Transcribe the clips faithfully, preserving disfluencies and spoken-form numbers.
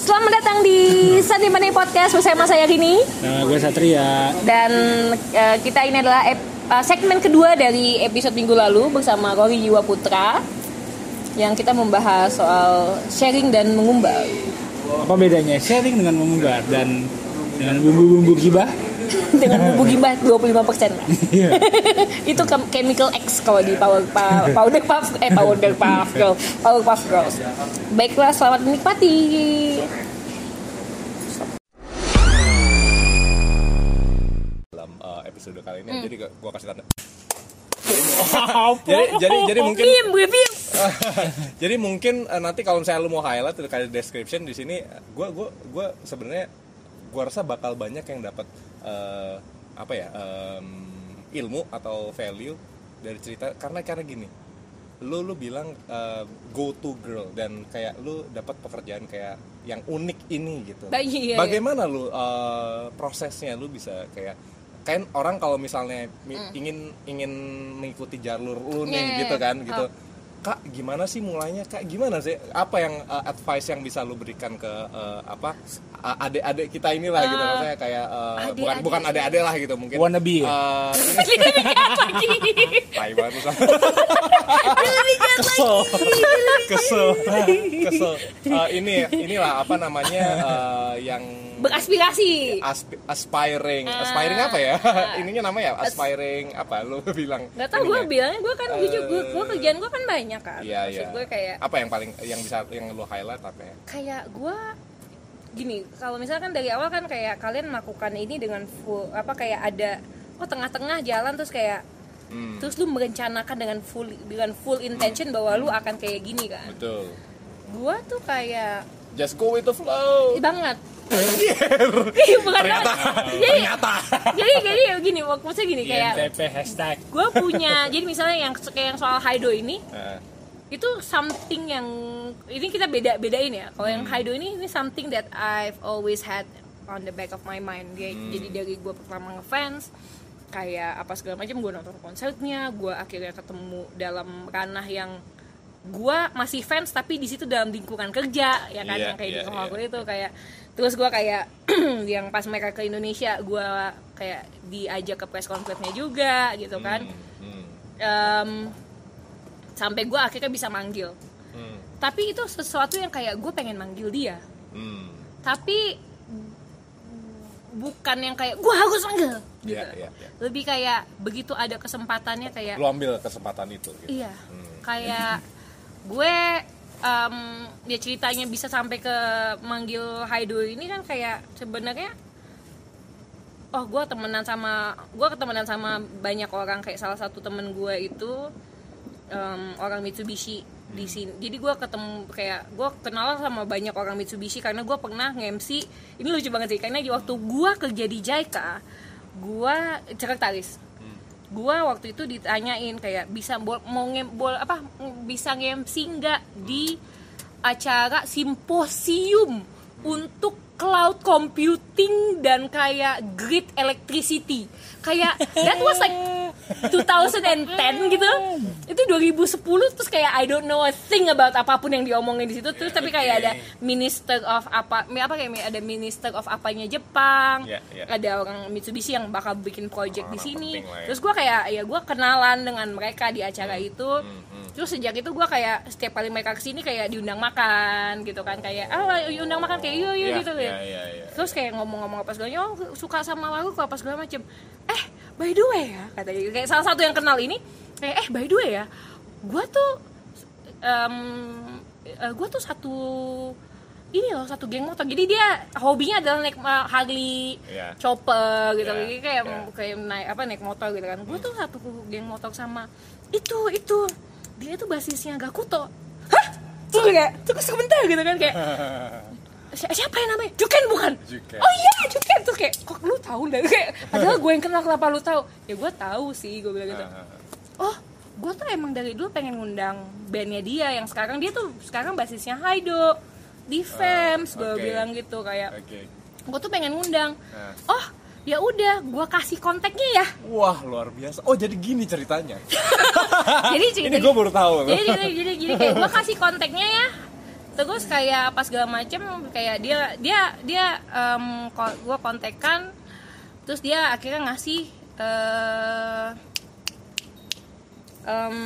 Selamat datang di Sunday Money Podcast bersama saya Rini. Nah, gue Satria. Dan uh, kita ini adalah ep- uh, segmen kedua dari episode minggu lalu bersama Rory Jiwa Putra, yang kita membahas soal sharing dan mengumbar. Apa bedanya sharing dengan mengumbar dan dengan bumbu-bumbu gibah? Dengan bumbu gibah dua puluh lima persen. Iya. Itu chemical X kalau di Power pa, Powder Puff eh Powder Puff Girl, Power Puff Girls. Baiklah, selamat menikmati. Dalam uh, episode kali ini, hmm. jadi gue kasih tanda. Oh, jadi jadi jadi mungkin Bim, bim. jadi mungkin uh, nanti kalau misalnya lu mau highlight atau kayak description di sini, gue gue gue sebenarnya gue rasa bakal banyak yang dapat uh, apa ya um, ilmu atau value dari cerita karena karena gini, lu lu bilang uh, go to girl dan kayak lu dapat pekerjaan kayak yang unik ini gitu. Ba- iya, Bagaimana iya. lu uh, prosesnya lu bisa kayak kan orang kalau misalnya mm. ingin ingin mengikuti jalur lu nih yeah, gitu kan gitu. Oh. Kak, gimana sih mulainya? Kak, gimana sih? Apa yang uh, advice yang bisa lu berikan ke uh, apa uh, adik-adik kita inilah uh, gitu maksudnya kayak uh, adik, bukan adik, bukan adik-adik lah gitu mungkin. Wannabe. Uh, Tai banget sama. Kesel. Kesel. Kesel. Uh, ini inilah apa namanya uh, yang beraspirasi. Asp- aspiring. Uh, aspiring apa ya? Uh, Ininya namanya aspiring apa? Lu bilang. Enggak tahu gue bilangnya gue kan uh, gue juga gue kerjaan gue kan banyak kan. Iya, iya. Gue kayak apa yang paling yang bisa yang lu highlight apa ya? Kayak gue gini, kalau misalkan dari awal kan kayak kalian melakukan ini dengan full apa kayak ada oh tengah-tengah jalan terus kayak hmm. terus lu merencanakan dengan full dengan full intention hmm. bahwa lu akan kayak gini kan. Betul. Gue tuh kayak just go with the flow. Banget. Iya, ternyata, jadi, ternyata. Jadi, jadi gini, maksudnya gini kayak. I N T P hashtag. Gue punya, jadi misalnya yang kayak yang soal Haido ini, uh. itu something yang ini kita beda bedain ya. Kalau hmm. yang Haido ini, ini something that I've always had on the back of my mind. Jadi, hmm. jadi dari gue pertama ngefans, kayak apa segala macam, gue nonton konsernya, gue akhirnya ketemu dalam ranah yang gue masih fans tapi di situ dalam lingkungan kerja ya kan, yeah, yang kayak yeah, di rumah yeah. gue itu kayak terus gue kayak yang pas mereka ke Indonesia gue kayak diajak ke press conference-nya juga gitu kan, hmm, hmm. Um, sampai gue akhirnya bisa manggil, hmm. tapi itu sesuatu yang kayak gue pengen manggil dia, hmm. tapi bukan yang kayak gue harus manggil gitu, yeah, yeah, yeah. lebih kayak begitu ada kesempatannya kayak lu ambil kesempatan itu gitu. Iya, hmm. kayak gue um, ya ceritanya bisa sampai ke manggil Haido ini kan kayak sebenarnya oh gue temenan sama gue ketemenan sama banyak orang, kayak salah satu temen gue itu um, orang Mitsubishi di sini, jadi gue ketemu kayak gue kenal sama banyak orang Mitsubishi karena gue pernah nge-M C, ini lucu banget sih karena di waktu gue kerja di JICA gue sekretaris. Gua waktu itu ditanyain kayak bisa bol, mau nge, bol, apa bisa nge-M C nggak di acara simposium untuk cloud computing dan kayak grid electricity, kayak that was like twenty ten gitu, itu dua ribu sepuluh, terus kayak I don't know a thing about apapun yang diomongin di situ, terus tapi kayak ada minister of apa apa kayak ada minister of apanya Jepang, yeah, yeah. ada orang Mitsubishi yang bakal bikin project di sini, ya. Terus gue kayak ya gue kenalan dengan mereka di acara hmm, itu, hmm, hmm. terus sejak itu gue kayak setiap kali mereka kesini kayak diundang makan gitu kan, kayak ah oh, diundang makan kayak yuk yuk yeah, gitu yeah, yeah, yeah. Terus kayak ngomong-ngomong apa segala, oh suka sama lagu apa segala macem, eh by the way ya katanya, kayak salah satu yang kenal ini kayak eh by the way ya gue tuh um, uh, gue tuh satu ini loh satu geng motor, jadi dia hobinya adalah naik uh, Harley, yeah. chopper gitu, yeah. jadi kayak yeah. kayak naik apa naik motor gitu kan, gue tuh satu geng motor sama itu itu dia tuh basisnya Gakuto. Hah? Terus kayak terus sebentar gitu kan kayak siapa yang namanya? Juken bukan? Juken. Oh iya Juken, tuh kayak kok lu tahu deh, kayak padahal gue yang kenal, kenapa lu tahu? Ya gue tahu sih, gue bilang gitu. Oh gue tuh emang dari dulu pengen ngundang bandnya dia yang sekarang dia tuh sekarang basisnya Haido di Fems, gue okay. bilang gitu kayak okay. gue tuh pengen ngundang. Oh ya udah gue kasih kontaknya ya. Wah luar biasa. Oh jadi gini ceritanya. Jadi cerita, ini gue baru tahu. Jadi jadi jadi, jadi kayak gue kasih kontaknya ya. Terus kayak pas segala macem kayak dia dia dia um, gue kontekan, terus dia akhirnya ngasih uh, um,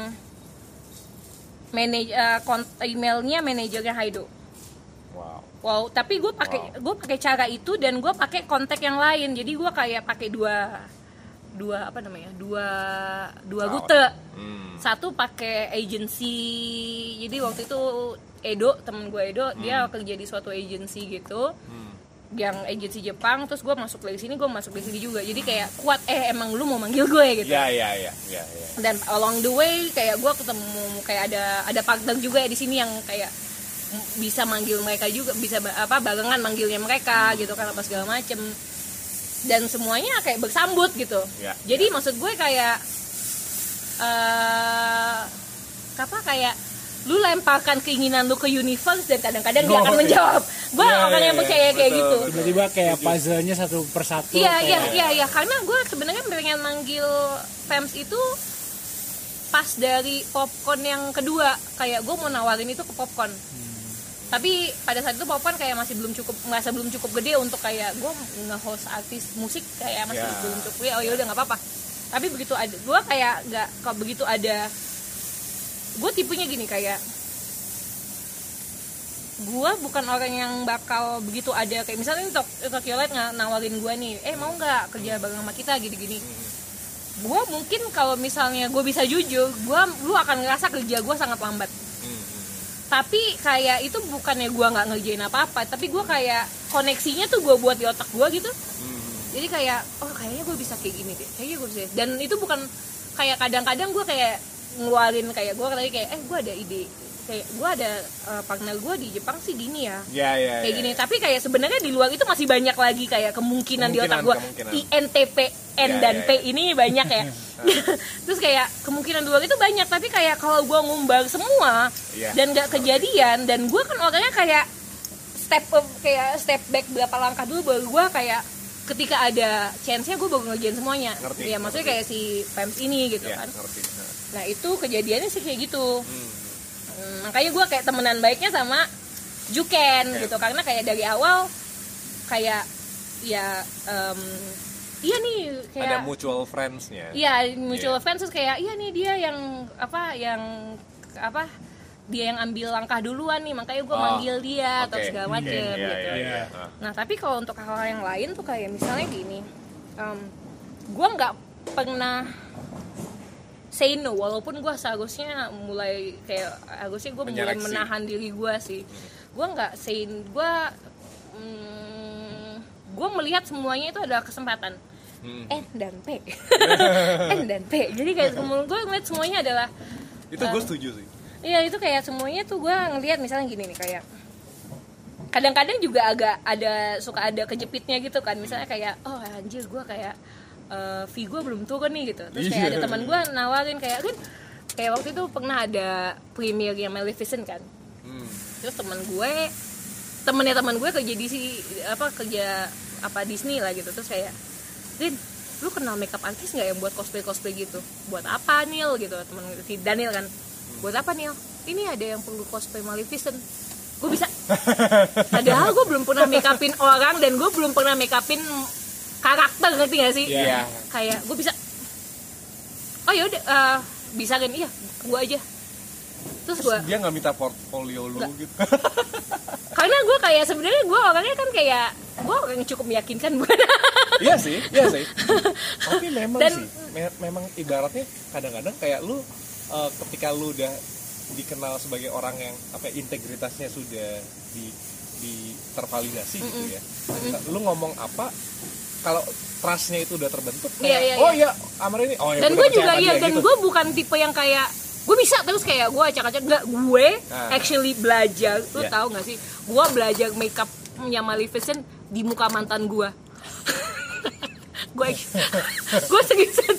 manaj uh, emailnya manajernya Haido. Wow. Wow, tapi gue pakai wow. gue pakai cara itu dan gue pakai kontak yang lain. Jadi gue kayak pakai dua dua apa namanya? Dua dua rute. Hmm. Satu pakai agency. Jadi waktu itu Edo, temen gue Edo, hmm. dia kerja di suatu agency gitu. Hmm. Yang agency Jepang, terus gue masuk dari sini, gue masuk dari sini juga. Jadi kayak kuat, eh emang lu mau manggil gue gitu. Iya, iya, iya, iya. Dan along the way kayak gue ketemu kayak ada ada partner juga ya di sini yang kayak bisa manggil mereka juga, bisa apa barengan manggilnya mereka gitu kan apa segala macem, dan semuanya kayak bersambut gitu ya, jadi ya. Maksud gue kayak uh, apa kayak lu lemparkan keinginan lu ke universe dan kadang-kadang oh, dia akan menjawab. Gue ya, orang ya, yang percaya ya, kayak betul, gitu tiba-tiba kayak puzzle-nya satu persatu. Iya iya iya iya karena gue sebenarnya pengen manggil Fems itu pas dari Popcorn yang kedua, kayak gue mau nawarin itu ke Popcorn. hmm. Tapi pada saat itu Popcorn kayak masih belum cukup, ngerasa belum cukup gede untuk kayak gue nge-host artis musik, kayak masih yeah. belum cukup. Ya oh ya udah nggak apa-apa. Tapi begitu ada, gue kayak nggak, kalau begitu ada, gue tipenya gini kayak gue bukan orang yang bakal begitu ada kayak misalnya Tokyo Light nawarin gue nih, eh mau nggak kerja bareng sama kita gini-gini. Gue mungkin kalau misalnya gue bisa jujur, gue lu akan ngerasa kerja gue sangat lambat. Tapi kayak itu bukannya gue nggak ngerjain apa-apa, tapi gue kayak koneksinya tuh gue buat di otak gue gitu. hmm. Jadi kayak oh kayaknya gue bisa kayak gini deh, kayaknya gue bisa. Dan itu bukan kayak kadang-kadang gue kayak ngeluarin kayak gue tadi kayak eh gue ada ide, kayak gue ada uh, partner gue di Jepang sih gini ya, yeah, yeah, kayak yeah. gini. Tapi kayak sebenarnya di luar itu masih banyak lagi kayak kemungkinan, kemungkinan di otak gue. I N T P N yeah, dan yeah, P yeah. ini banyak ya. Terus kayak kemungkinan di luar itu banyak, tapi kayak kalau gue ngumbar semua yeah. dan gak kejadian, dan gue kan orangnya kayak step up, kayak step back berapa langkah dulu baru gue kayak ketika ada chance-nya gue baru ngerjain semuanya. Ngerti, ya maksudnya ngerti. Kayak si Fems ini gitu yeah, kan. Ngerti. Nah itu kejadiannya sih kayak gitu. Hmm. Hmm, makanya gue kayak temenan baiknya sama Juken yeah. gitu, karena kayak dari awal kayak ya um, iya nih kayak ada mutual friends-nya. Iya, mutual yeah. friends, terus kayak iya nih dia yang apa yang apa dia yang ambil langkah duluan nih, makanya gue oh, manggil dia okay. atau segala macem yeah, yeah, gitu. Yeah, yeah, yeah. Nah tapi kalau untuk hal-hal yang lain tuh kayak misalnya gini, um, gue nggak pernah say no, walaupun gue seharusnya mulai kayak harusnya gue mulai menahan diri gue sih. Gue nggak say, gue mm, gue melihat semuanya itu adalah kesempatan. hmm. N dan P N dan P jadi kayak gue ngeliat semuanya adalah itu gue uh, setuju sih. Iya itu kayak semuanya tuh gue ngeliat misalnya gini nih, kayak kadang-kadang juga agak ada suka ada kejepitnya gitu kan, misalnya kayak oh anjir gue kayak uh, fee gue belum turun nih gitu, terus kayak ada teman gue nawarin kayak kan kayak waktu itu pernah ada premiere yang Maleficent kan. hmm. Terus teman gue temennya teman gue kerja di si apa kerja apa Disney lah gitu, terus kayak Din, lu kenal makeup artist nggak yang buat cosplay cosplay gitu? Buat apa Neil gitu, temen si Daniel kan? Buat apa Neil? Ini ada yang perlu cosplay Maleficent. Gue bisa. Padahal gue belum pernah make upin orang dan gue belum pernah make upin karakter, ngerti nggak sih? Iya. Yeah. Kayak gue bisa. Oh ya udah, uh, bisa kan? Iya, gue aja. Terus, Terus gue. Dia nggak minta portfolio lu gak. Gitu. Karena gue kayak sebenarnya gue orangnya kan kayak gue orang yang cukup meyakinkan bukan? Iya sih, iya sih. Tapi memang Dan, sih, me- memang ibaratnya kadang-kadang kayak lu uh, ketika lu udah dikenal sebagai orang yang apa integritasnya sudah di di tervalidasi mm-mm. gitu ya. Mm-mm. Lu ngomong apa kalau trustnya itu udah terbentuk kayak yeah, yeah, oh iya yeah. Amar ini oh ya. Dan gue juga iya dan gitu. Gue bukan tipe yang kayak gue bisa terus kayak gue acak-acak, enggak, gue nah. actually belajar. Lu yeah. tahu nggak sih, gue belajar makeupnya Maleficent di muka mantan gue. gue gue seriusan.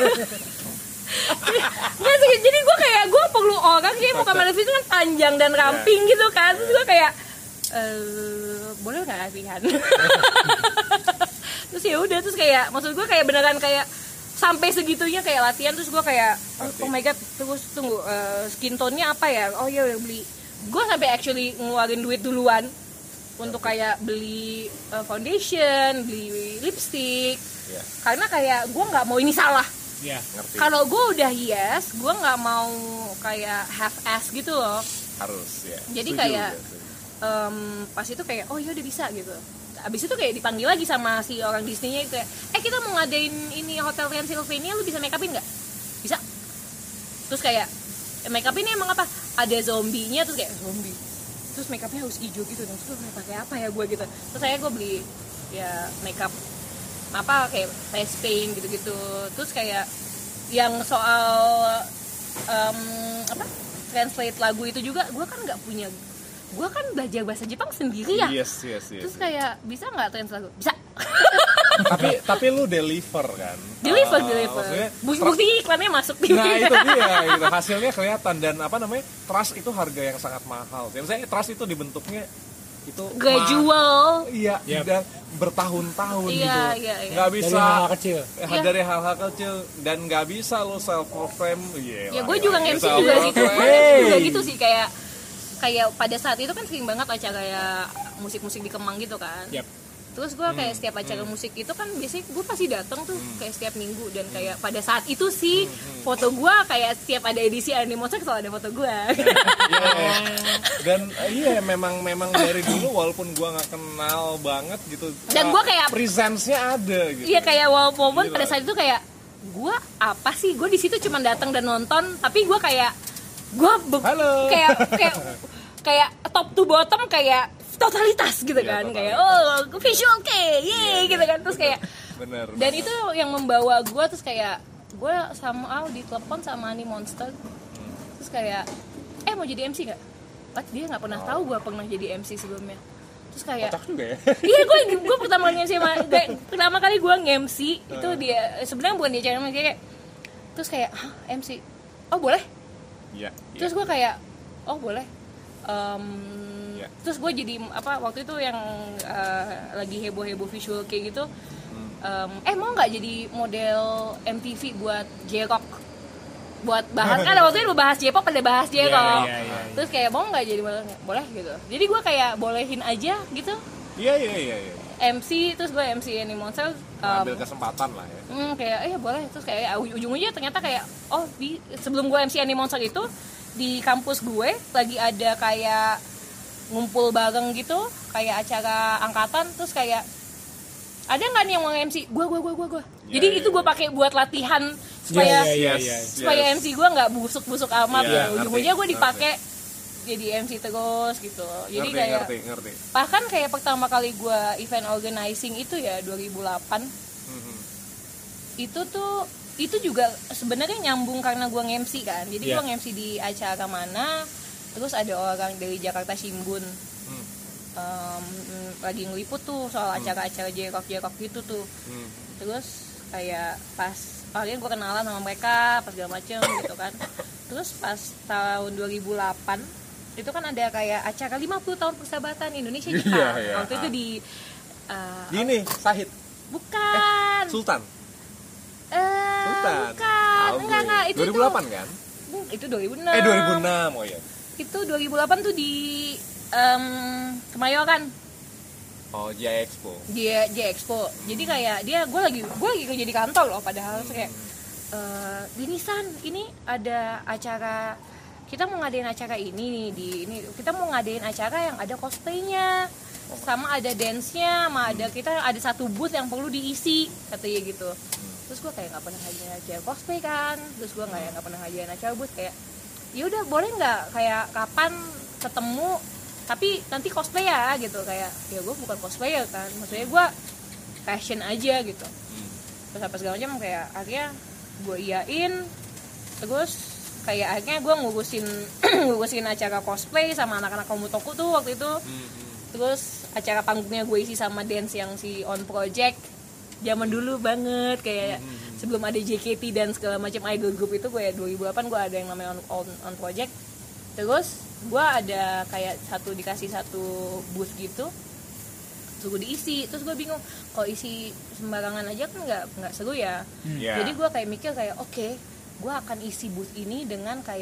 Nggak sih, jadi gue kayak gue perlu orang kayak muka Maleficent kan panjang dan ramping yeah. gitu kan, terus gue kayak eh boleh nggak latihan? Terus ya udah, terus kayak maksud gue kayak beneran kayak sampai segitunya kayak latihan, terus gue kayak oh, oh my god, terus tunggu uh, skin tone-nya apa ya? Oh iya beli gue sampai actually ngeluarin duit duluan untuk kayak beli uh, foundation, beli lipstick, yeah. karena kayak gue nggak mau ini salah. Yeah. Kalau gue udah yes, gue nggak mau kayak half ass gitu loh. Harus ya. Jadi Setuju, kayak ya, um, pas itu kayak oh ya udah bisa gitu. Abis itu kayak dipanggil lagi sama si orang Disney-nya itu kayak, eh kita mau ngadain ini Hotel Transylvania, lu bisa make upin nggak? Bisa. Terus kayak make up ini emang apa? Ada zombinya, terus kayak zombie. Terus make upnya harus hijau gitu, dan terus gue pakai apa ya gue gitu. Terus saya gue beli ya make up apa kayak face paint gitu-gitu. Terus kayak yang soal um, apa? Translate lagu itu juga, gue kan nggak punya. Gue kan belajar bahasa Jepang sendiri ya. Yes, yes, yes. Terus yes. kayak bisa nggak translate lagu? Bisa. tapi tapi lu deliver kan? Deliver, uh, deliver. Maksudnya, Bukti iklannya masuk di. nah itu dia, gitu. Hasilnya kelihatan dan apa namanya trust itu harga yang sangat mahal. Misalnya trust itu dibentuknya itu gradual. Ma- iya, yep. dan bertahun-tahun Iya, gitu. iya, iya. Nggak bisa dari hal-hal kecil. eh, Iya. dari hal-hal kecil dan nggak bisa lo self proclaim. Yeah, Ya gue juga nge-M C juga gitu. Gue Hey. juga gitu sih kayak kayak pada saat itu kan sering banget acara kayak musik-musik di Kemang gitu kan. Yep. Terus gue kayak setiap acara musik itu kan biasanya gue pasti datang tuh kayak setiap minggu dan kayak pada saat itu sih foto gue kayak setiap ada edisi Animonster selalu ada foto gue. Iya. Dan uh, iya memang memang dari dulu walaupun gua nggak kenal banget gitu. Dan uh, gua kayak- presence-nya ada gitu. Iya kayak walaupun Gila. pada saat itu kayak gue apa sih gue di situ cuma datang dan nonton tapi gue kayak gue be- Halo. kayak kayak kayak top to bottom kayak totalitas gitu Iya, kan totalitas. kayak oh visual kayak ye Iya, gitu kan terus kayak Bener. dan bener. itu yang membawa gue terus kayak gue sama ditelepon sama Animonster terus kayak eh mau jadi M C nggak? What? Dia nggak pernah tahu gue pernah jadi M C sebelumnya terus kayak Kocak juga ya. iya gue gue pertama kali nge-M C sama gue, pertama kali gue nge-M C itu dia sebenarnya bukan dia cara kayak terus kayak hah M C oh boleh Iya. terus gue kayak oh boleh. Um, Iya. Terus gue jadi apa waktu itu yang uh, lagi heboh heboh visual kayak gitu um, eh mau nggak jadi model M T V buat J-Rock buat bahas kan waktu itu bahas J-pop ada bahas J-Rock Iya, iya, iya, iya. terus kayak mau nggak jadi model boleh gitu jadi gue kayak bolehin aja gitu Iya iya iya iya. M C terus gue M C Animonster um, Ambil kesempatan lah ya. hmm, kayak eh boleh terus kayak ujung-ujungnya ternyata kayak oh di sebelum gue M C Animonster itu di kampus gue lagi ada kayak ngumpul bareng gitu kayak acara angkatan terus kayak ada nggak nih yang mau M C gue gue gue gue gue Ya, jadi ya, itu gue ya. pakai buat latihan supaya Iya, iya, iya. supaya Yes. M C gue nggak busuk-busuk amat Iya, ya ngerti, ujung-ujungnya gue ngerti. dipakai jadi M C terus gitu jadi ngerti, kayak ngerti ngerti. bahkan kayak pertama kali gue event organizing itu ya dua ribu delapan Mhm. itu tuh itu juga sebenarnya nyambung karena gue nge-M C kan jadi Iya. gue nge-M C di acara mana terus ada orang dari Jakarta Shimbun Hmm. um, lagi ngeliput tuh soal acara-acara J-Rock J-Rock gitu tuh Hmm. terus kayak pas akhirnya gue kenalan sama mereka pas segala macem gitu kan terus pas tahun dua ribu delapan itu kan ada kayak acara lima puluh tahun persahabatan Indonesia Jepang Iya, iya. waktu itu di uh, Gini, Sahid. bukan Sultan. Eh, Sultan. bukan Tahu enggak gue. enggak itu dua ribu delapan itu, kan? itu dua ribu enam Eh dua ribu enam oh ya. itu dua ribu delapan tuh di um, Kemayoran Oh, Jaya Expo. dia J Expo jadi kayak dia gue lagi gue lagi kerja di kantor loh padahal terus kayak eh Dini San ini ada acara kita mau ngadain acara ini nih di ini kita mau ngadain acara yang ada cosplaynya sama ada dance-nya sama ada kita ada satu booth yang perlu diisi katanya gitu terus gue kayak nggak pernah ngajarin acara cosplay kan terus gue nggak nggak pernah ngajarin acara booth kayak ya udah boleh nggak kayak kapan ketemu tapi nanti cosplay ya gitu kayak ya gue bukan cosplayer kan maksudnya gue fashion aja gitu terus apa segala macam kayak akhirnya gue iyain terus kayak akhirnya gue ngurusin ngurusin acara cosplay sama anak-anak Komutoku tuh waktu itu terus acara panggungnya gue isi sama dance yang si On Project zaman dulu banget kayak sebelum ada J K T dan segala macam idol group itu gue ya dua ribu delapan gue ada yang namanya On, On, On Project terus gue ada kayak satu dikasih satu booth gitu terus gue diisi terus gue bingung kalau isi sembarangan aja kan nggak nggak seru ya Iya. jadi gue kayak mikir kayak oke okay, gue akan isi booth ini dengan kayak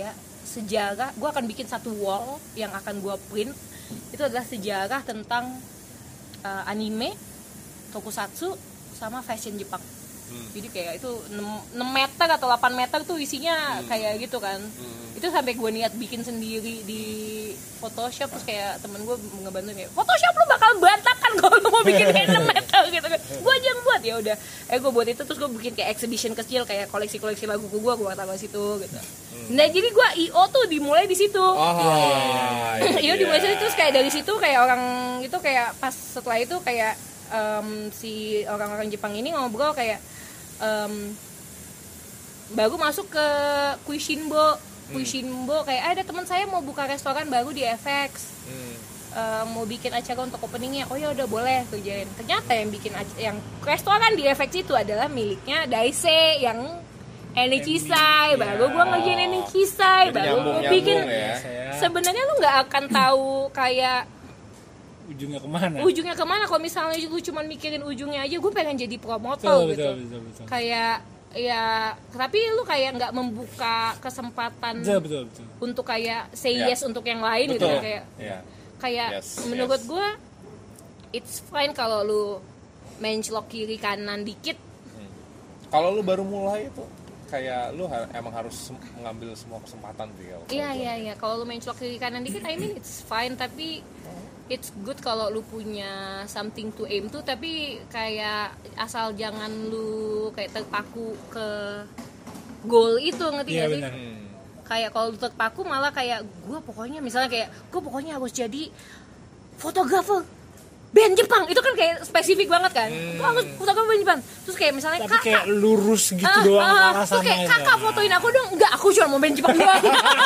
sejarah. Gue akan bikin satu wall yang akan gue print. Itu adalah sejarah tentang uh, anime, tokusatsu, sama fashion Jepang. Hmm. Jadi kayak itu enam meter atau delapan meter tuh isinya hmm. kayak gitu kan. Hmm. Itu sampai gue niat bikin sendiri di Photoshop, terus kayak temen gue ngebantu kayak Photoshop lu bakal berantakan kalau lu mau bikin kayak enam meter gitu kan. Gue aja yang buat, ya udah. Eh gue buat itu, terus gue bikin kayak exhibition kecil kayak koleksi-koleksi lagu gue, gue taruh situ gitu. Hmm. Nah jadi gue I O tuh dimulai di situ. Oh, iya. I O dimulai di situ, terus kayak dari situ kayak orang itu kayak pas setelah itu kayak um, si orang-orang Jepang ini ngobrol kayak Um, baru masuk ke Kuishinbo, Kuishinbo kayak ada teman saya mau buka restoran baru di F X, hmm. uh, mau bikin acara untuk openingnya. Oh ya udah boleh kerjain. Ternyata yang bikin ac- yang restoran di F X itu adalah miliknya Daisei yang Enikisai. Ya. Baru gue ngerjain Enikisai, baru gue bikin. Ya. Sebenarnya lu nggak akan tahu kayak ujungnya kemana? Ujungnya kemana? Kalau misalnya gue cuma mikirin ujungnya aja, gue pengen jadi promotor betul, gitu. Betul, betul, betul. Kayak ya, tapi lu kayak nggak membuka kesempatan betul, betul, betul. untuk kayak say yeah. yes untuk yang lain betul. Gitu kayak yeah. kayak yes, menurut yes. gue it's fine kalau lu mencelok kiri kanan dikit. Hmm. Kalau lu baru mulai itu kayak lu ha- emang harus mengambil semua kesempatan tuh ya. Iya iya iya. Kalau lu mencelok kiri kanan dikit, I mean it's fine, tapi it's good kalau lu punya something to aim to, tapi kayak asal jangan lu kayak terpaku ke goal itu, ngerti yeah, gak sih? Hmm. Kayak kalau lu terpaku malah kayak gue pokoknya misalnya kayak gue pokoknya harus jadi fotografer band Jepang, itu kan kayak spesifik banget kan. Hmm. Gue harus fotografer band Jepang. Terus kayak misalnya tapi kakak kayak lurus gitu uh, doang uh, arah sana. Terus kayak kakak fotoin aku dong. Enggak, aku cuma mau band Jepang doang.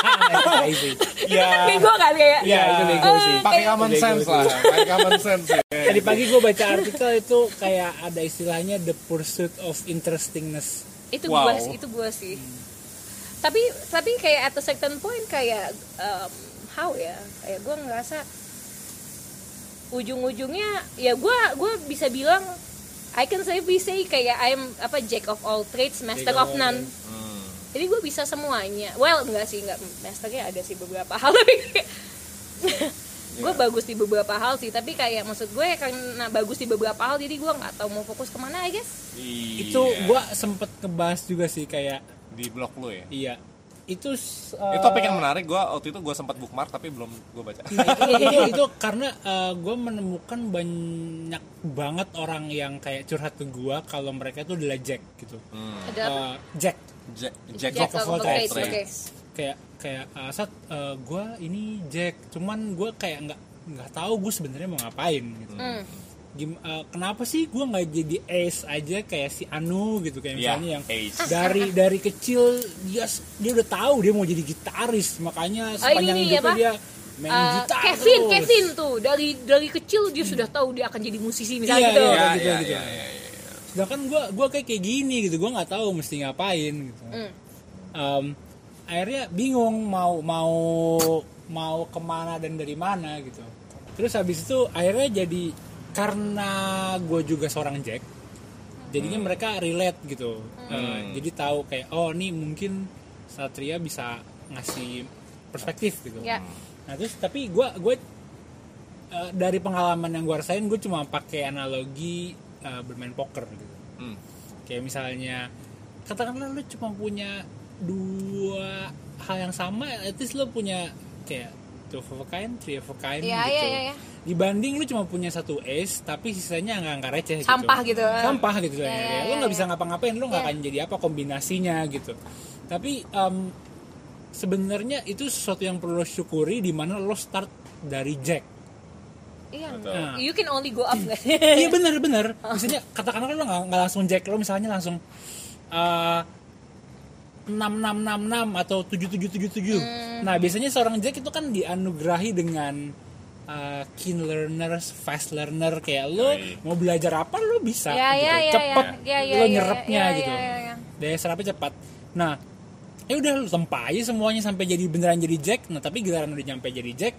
Itu kan bego kan kayak. Iya, itu bego uh, sih. Pakai common sense lah. Pakai common sense. Tadi pagi gue baca artikel itu kayak ada istilahnya the pursuit of interestingness. Itu wow. gue sih, itu gue sih. Hmm. Tapi tapi kayak at a certain point kayak um, how ya? Kayak gue ngerasa ujung-ujungnya ya gue gue bisa bilang I can safely say kayak I'm apa jack of all trades, master of none. Hmm. Jadi gue bisa semuanya. Well enggak sih, enggak masternya ada sih beberapa hal tapi gue yeah. bagus di beberapa hal sih. Tapi kayak maksud gue karena bagus di beberapa hal jadi gue nggak tahu mau fokus kemana I guess. Yeah. Itu gue sempet ngebahas juga sih kayak di blog lu ya. Iya. Itu uh, itu topik yang menarik. Gue waktu itu gue sempat bookmark tapi belum gue baca. itu, itu karena uh, gue menemukan banyak banget orang yang kayak curhat ke gue kalau mereka itu adalah Jack gitu. Hmm. Ada apa? Uh, Jack. Jack. Jack, Jack of all trades. Okay. Kayak kayak uh, saat uh, gue ini Jack, cuman gue kayak nggak nggak tahu gue sebenarnya mau ngapain gitu. Hmm. Gim, uh, kenapa sih gue nggak jadi ace aja kayak si Anu gitu kayak misalnya yeah, yang ace. dari dari kecil dia dia udah tahu dia mau jadi gitaris, makanya sepanjang oh, hidupnya dia main uh, gitar Kevin terus. Kevin tuh dari dari kecil dia sudah tahu dia akan jadi musisi misalnya yeah, gitu. Yeah, yeah, gitu, yeah, gitu. Yeah, yeah, yeah. Sedangkan gue gue kayak kayak gini gitu, gue nggak tahu mesti ngapain gitu. Mm. Um, akhirnya bingung mau mau mau kemana dan dari mana gitu. Terus habis itu akhirnya jadi karena gue juga seorang Jack, jadinya hmm. mereka relate gitu, hmm. uh, jadi tahu kayak oh nih mungkin Satria bisa ngasih perspektif gitu. Yeah. Nah terus tapi gue gue uh, dari pengalaman yang gue rasain gue cuma pakai analogi uh, bermain poker gitu. Hmm. Kayak misalnya katakanlah lu cuma punya dua hal yang sama, at least lu punya kayak two of a kind, three of a kind yeah, gitu. Yeah, yeah, yeah. Dibanding lu cuma punya satu ace tapi sisanya angka-angka receh gitu. Sampah gitu. Sampah gitu ya, yeah, ya. Yeah, lu nggak yeah. bisa ngapa-ngapain, lu nggak yeah. akan jadi apa kombinasinya gitu. Tapi um, sebenarnya itu sesuatu yang perlu lo syukuri di mana lo start dari Jack. Iya. Nah, you can only go up nggak sih? Iya benar-benar. Misalnya katakanlah lo nggak nggak langsung Jack, lo misalnya langsung uh, enam enam enam enam atau tujuh tujuh tujuh tujuh. Hmm. Nah, biasanya seorang Jack itu kan dianugerahi dengan uh, keen learners, fast learner kayak lo Hai. Mau belajar apa lo bisa ya, gitu. Ya, ya, cepet ya, ya, lo ya, nyerapnya ya, ya, gitu. ya, ya, ya. Daya serapnya cepat. Nah, ya udah lo tempa aja semuanya sampai jadi beneran jadi Jack. Nah, tapi giliran udah nyampe jadi Jack,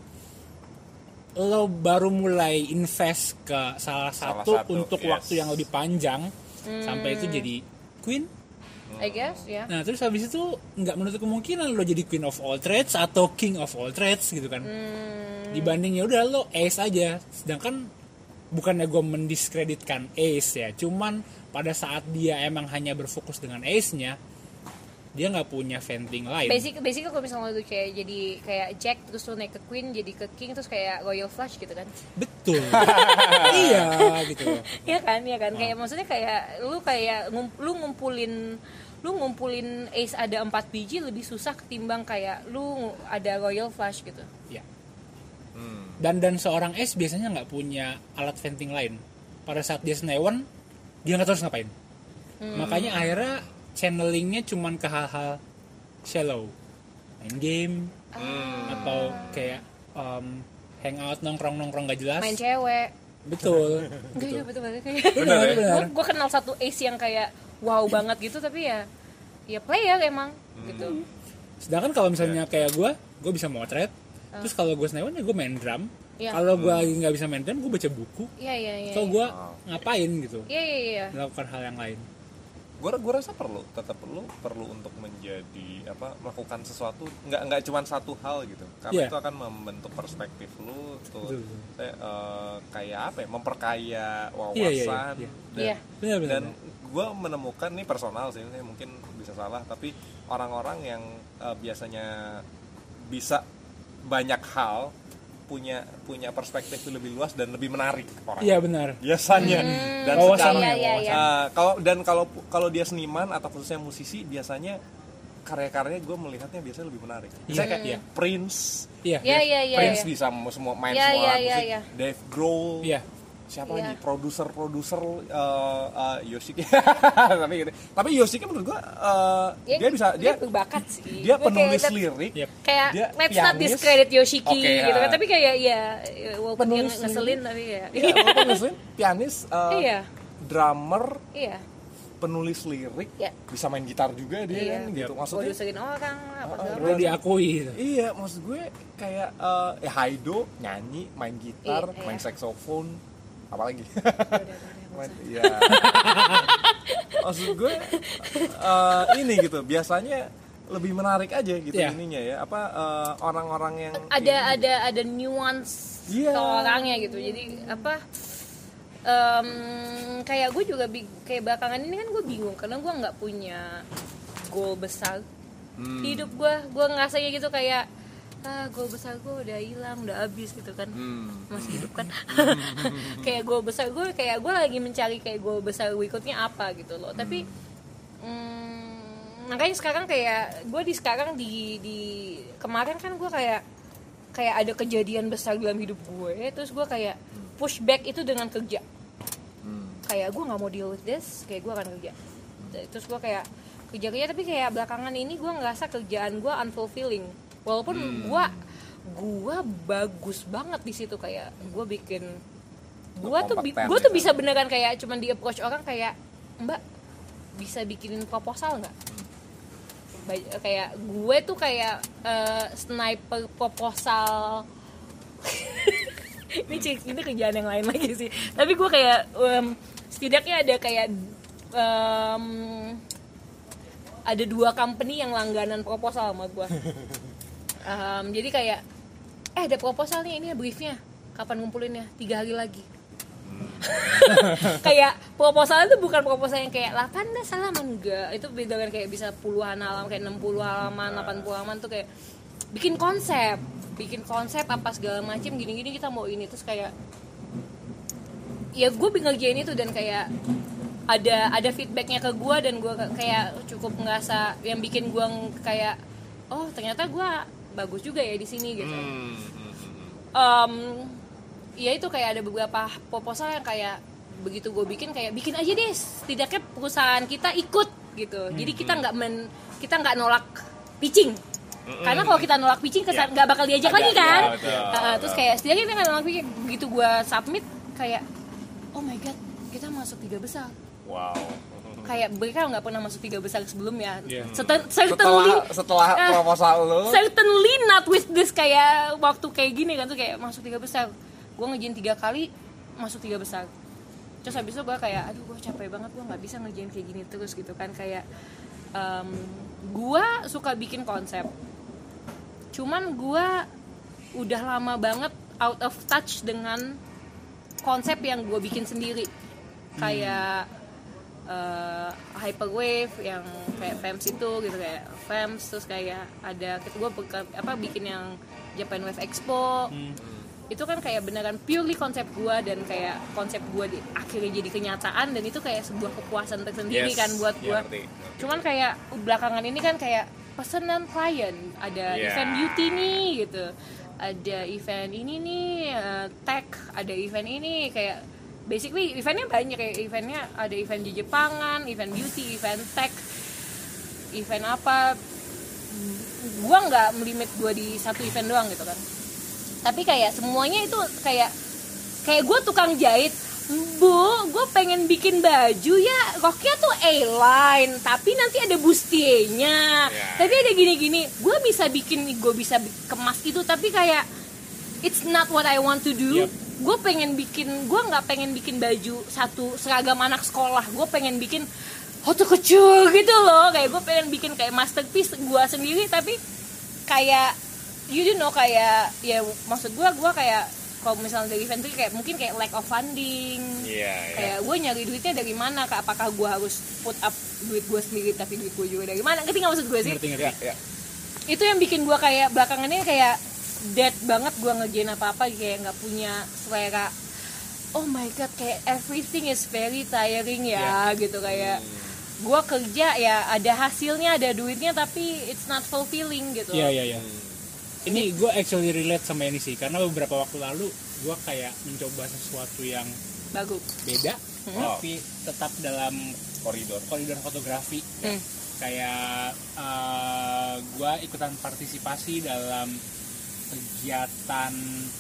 lo baru mulai invest ke salah satu, salah satu untuk yes. waktu yang lebih panjang hmm. sampai itu jadi Queen. I guess ya. Nah terus habis itu nggak menutup kemungkinan lo jadi queen of all trades atau king of all trades gitu kan. Hmm. Dibanding ya udah lo ace aja. Sedangkan bukannya gue mendiskreditkan ace ya, cuman pada saat dia emang hanya berfokus dengan ace-nya, dia nggak punya venting lain. Basic, basic kalau misalnya lu kayak jadi kayak Jack terus lu naik ke Queen jadi ke King terus kayak Royal Flush gitu kan? Betul. Iya gitu. Iya kan, iya kan. Kayak maksudnya kayak lu kayak ngum, lu ngumpulin lu ngumpulin ace ada empat biji lebih susah ketimbang kayak lu ada Royal Flush gitu. Iya. Hmm. Dan dan seorang ace biasanya nggak punya alat venting lain. Pada saat dia senewan, dia nggak tahu harus ngapain. Hmm. Makanya akhirnya channelingnya cuman ke hal-hal shallow, main game hmm. atau kayak um, hangout nongkrong-nongkrong gak jelas, main cewek. Betul. Enggak ya betul banget kayak. Benar, benar. Gue kenal satu ace yang kayak wow banget gitu tapi ya ya player emang hmm. gitu. Sedangkan kalau misalnya kayak gue, gue bisa motret. Uh. Terus kalau gue senewan ya gue main drum. Ya. Kalau gue lagi nggak bisa main drum, gue baca buku. Iya iya iya. Atau gue ngapain gitu. Iya iya iya. Melakukan hal yang lain. Gue gue rasa perlu tetap perlu perlu untuk menjadi apa melakukan sesuatu nggak nggak cuma satu hal gitu karena yeah. itu akan membentuk perspektif lu tuh saya, uh, kayak apa ya memperkaya wawasan yeah, yeah, yeah. dan, yeah. Benar, benar, dan gue menemukan nih personal sih ini mungkin bisa salah tapi orang-orang yang uh, biasanya bisa banyak hal punya punya perspektif lebih luas dan lebih menarik orang. Iya benar. Biasanya hmm. dan oh, secara ya, ya, ya. Uh, kalau dan kalau kalau dia seniman atau khususnya musisi biasanya karya-karyanya gue melihatnya biasanya lebih menarik. Misalnya kayak yeah. Prince, yeah. Yeah, yeah, yeah, Prince yeah. bisa semua main yeah, semua yeah, musik. yeah, yeah. Dave Grohl, yeah. siapa yeah. lagi produser-produser uh, uh, Yoshiki. tapi gitu. Tapi Yoshiki menurut gue uh, ya, dia bisa dia, dia berbakat sih. Dia Gue penulis kayak, lirik, yep. kayak dia let's pianis, not discredit Yoshiki okay, gitu kan. uh, Tapi kayak ya walaupun dia penulis ngeselin tapi ya. Iya, walaupun ngeselin, pianis, uh, iya. drummer, iya. penulis lirik, ya. bisa main gitar juga dia iya. kan gitu. Maksudnya produserin orang apa uh, perlu diakui gitu. Iya, maksud gue kayak uh, ya Haido nyanyi, main gitar, iya, main iya. saksofon, apalagi. Udah, udah, main, ya. Maksud gue uh, ini gitu, biasanya lebih menarik aja gitu yeah. ininya ya. Apa uh, orang-orang yang ada ini, ada ada nuance yeah. ke orangnya gitu. Jadi apa um, kayak gue juga big, kayak belakangan ini kan gue bingung karena gue nggak punya goal besar hmm. di hidup gue. Gue ngerasanya gitu kayak ah goal besar gue udah hilang, udah habis gitu kan. hmm. Masih hidup kan. Kayak goal besar gue kayak gue lagi mencari kayak goal besar berikutnya apa gitu loh. hmm. Tapi hmm, makanya sekarang kayak gue di sekarang di di kemarin kan gue kayak kayak ada kejadian besar dalam hidup gue, terus gue kayak push back itu dengan kerja. hmm. Kayak gue nggak mau deal with this, kayak gue akan kerja. Terus gue kayak kerja kerja tapi kayak belakangan ini gue ngerasa kerjaan gue unfulfilling. Walaupun hmm. gue gue bagus banget di situ, kayak gue bikin gue tuh gue tuh bisa beneran kayak cuman di approach orang kayak mbak bisa bikinin proposal nggak? Kayak gue tuh kayak uh, sniper proposal. ini cik ini kerjaan yang lain lagi sih. Tapi gue kayak um, setidaknya ada kayak um, ada dua company yang langganan proposal sama gue. Um, jadi kayak eh ada proposal nih, ini briefnya kapan ngumpulinnya? Tiga hari lagi. Kayak proposal itu bukan proposal yang kayak delapan belas halaman, enggak. Itu beda kan kayak bisa puluhan halaman, kayak enam puluh halaman, delapan puluh halaman tuh kayak bikin konsep, bikin konsep apa segala macam gini-gini kita mau ini, terus kayak ya gue ngerjain itu dan kayak ada ada feedbacknya ke gue dan gue kayak cukup ngerasa yang bikin gue kayak oh ternyata gue bagus juga ya di sini gitu. Um, ya itu kayak ada beberapa proposal yang kayak begitu gue bikin kayak bikin aja deh, setidaknya perusahaan kita ikut gitu. Jadi kita nggak men kita nggak nolak pitching. Karena kalau kita nolak pitching kesan nggak bakal diajak lagi kan. Ya, betul, uh, betul. Terus kayak setidaknya kita nggak nolak pitching. Begitu gue submit kayak oh my god kita masuk tiga besar. Wow. Kayak mereka nggak pernah masuk tiga besar sebelumnya. Yeah. Certain, certainly setelah, setelah uh, proposal lu certainly not with this kayak waktu kayak gini kan tuh kayak masuk tiga besar. Gue ngerjain tiga kali masuk tiga besar. Terus habis itu gue kayak aduh gue capek banget, gue nggak bisa ngerjain kayak gini terus gitu kan, kayak um, gue suka bikin konsep, cuman gue udah lama banget out of touch dengan konsep yang gue bikin sendiri, kayak uh, Hyperwave yang kayak F E M S itu gitu, kayak F E M S, terus kayak ada gue apa bikin yang Japan Wave Expo. Hmm. Itu kan kayak beneran purely konsep gue, dan kayak konsep gue di, akhirnya jadi kenyataan, dan itu kayak sebuah kepuasan tersendiri yes, kan buat gue. Yeah, cuman kayak belakangan ini kan kayak pesanan klien, ada yeah. event beauty nih gitu, ada event ini nih uh, tech, ada event ini, kayak basically eventnya banyak, kayak eventnya ada event di Jepangan, event beauty, event tech, event apa. Gue nggak melimit gue di satu event doang gitu kan, tapi kayak semuanya itu kayak kayak gue tukang jahit, bu, gue pengen bikin baju ya, roknya tuh A-line, tapi nanti ada bustier-nya, yeah. tapi ada gini-gini, gue bisa bikin, gue bisa kemas itu, tapi kayak it's not what I want to do. Yep. Gue pengen bikin, gue nggak pengen bikin baju satu seragam anak sekolah, gue pengen bikin hotu kecil gitu loh, kayak gue pengen bikin kayak masterpiece gue sendiri, tapi kayak you know kayak ya maksud gue gue kayak kalau misalnya dari event itu kayak mungkin kayak lack of funding, yeah, yeah. kayak gue nyari duitnya dari mana, apakah gue harus put up duit gue sendiri tapi duit gue juga dari mana, ngerti nggak maksud gue sih? Ngerti, ngerti. Ya, ya. Itu yang bikin gue kayak belakangan ini kayak dead banget gue ngerjain apa-apa, kayak nggak punya selera. Oh my god, kayak everything is very tiring ya, yeah. gitu kayak hmm. gue kerja ya ada hasilnya, ada duitnya, tapi it's not fulfilling gitu. Iya iya iya. Ini gue actually relate sama ini sih, karena beberapa waktu lalu gue kayak mencoba sesuatu yang bagus, beda, hmm. tapi tetap dalam koridor koridor fotografi. Hmm. Kayak uh, gue ikutan partisipasi dalam kegiatan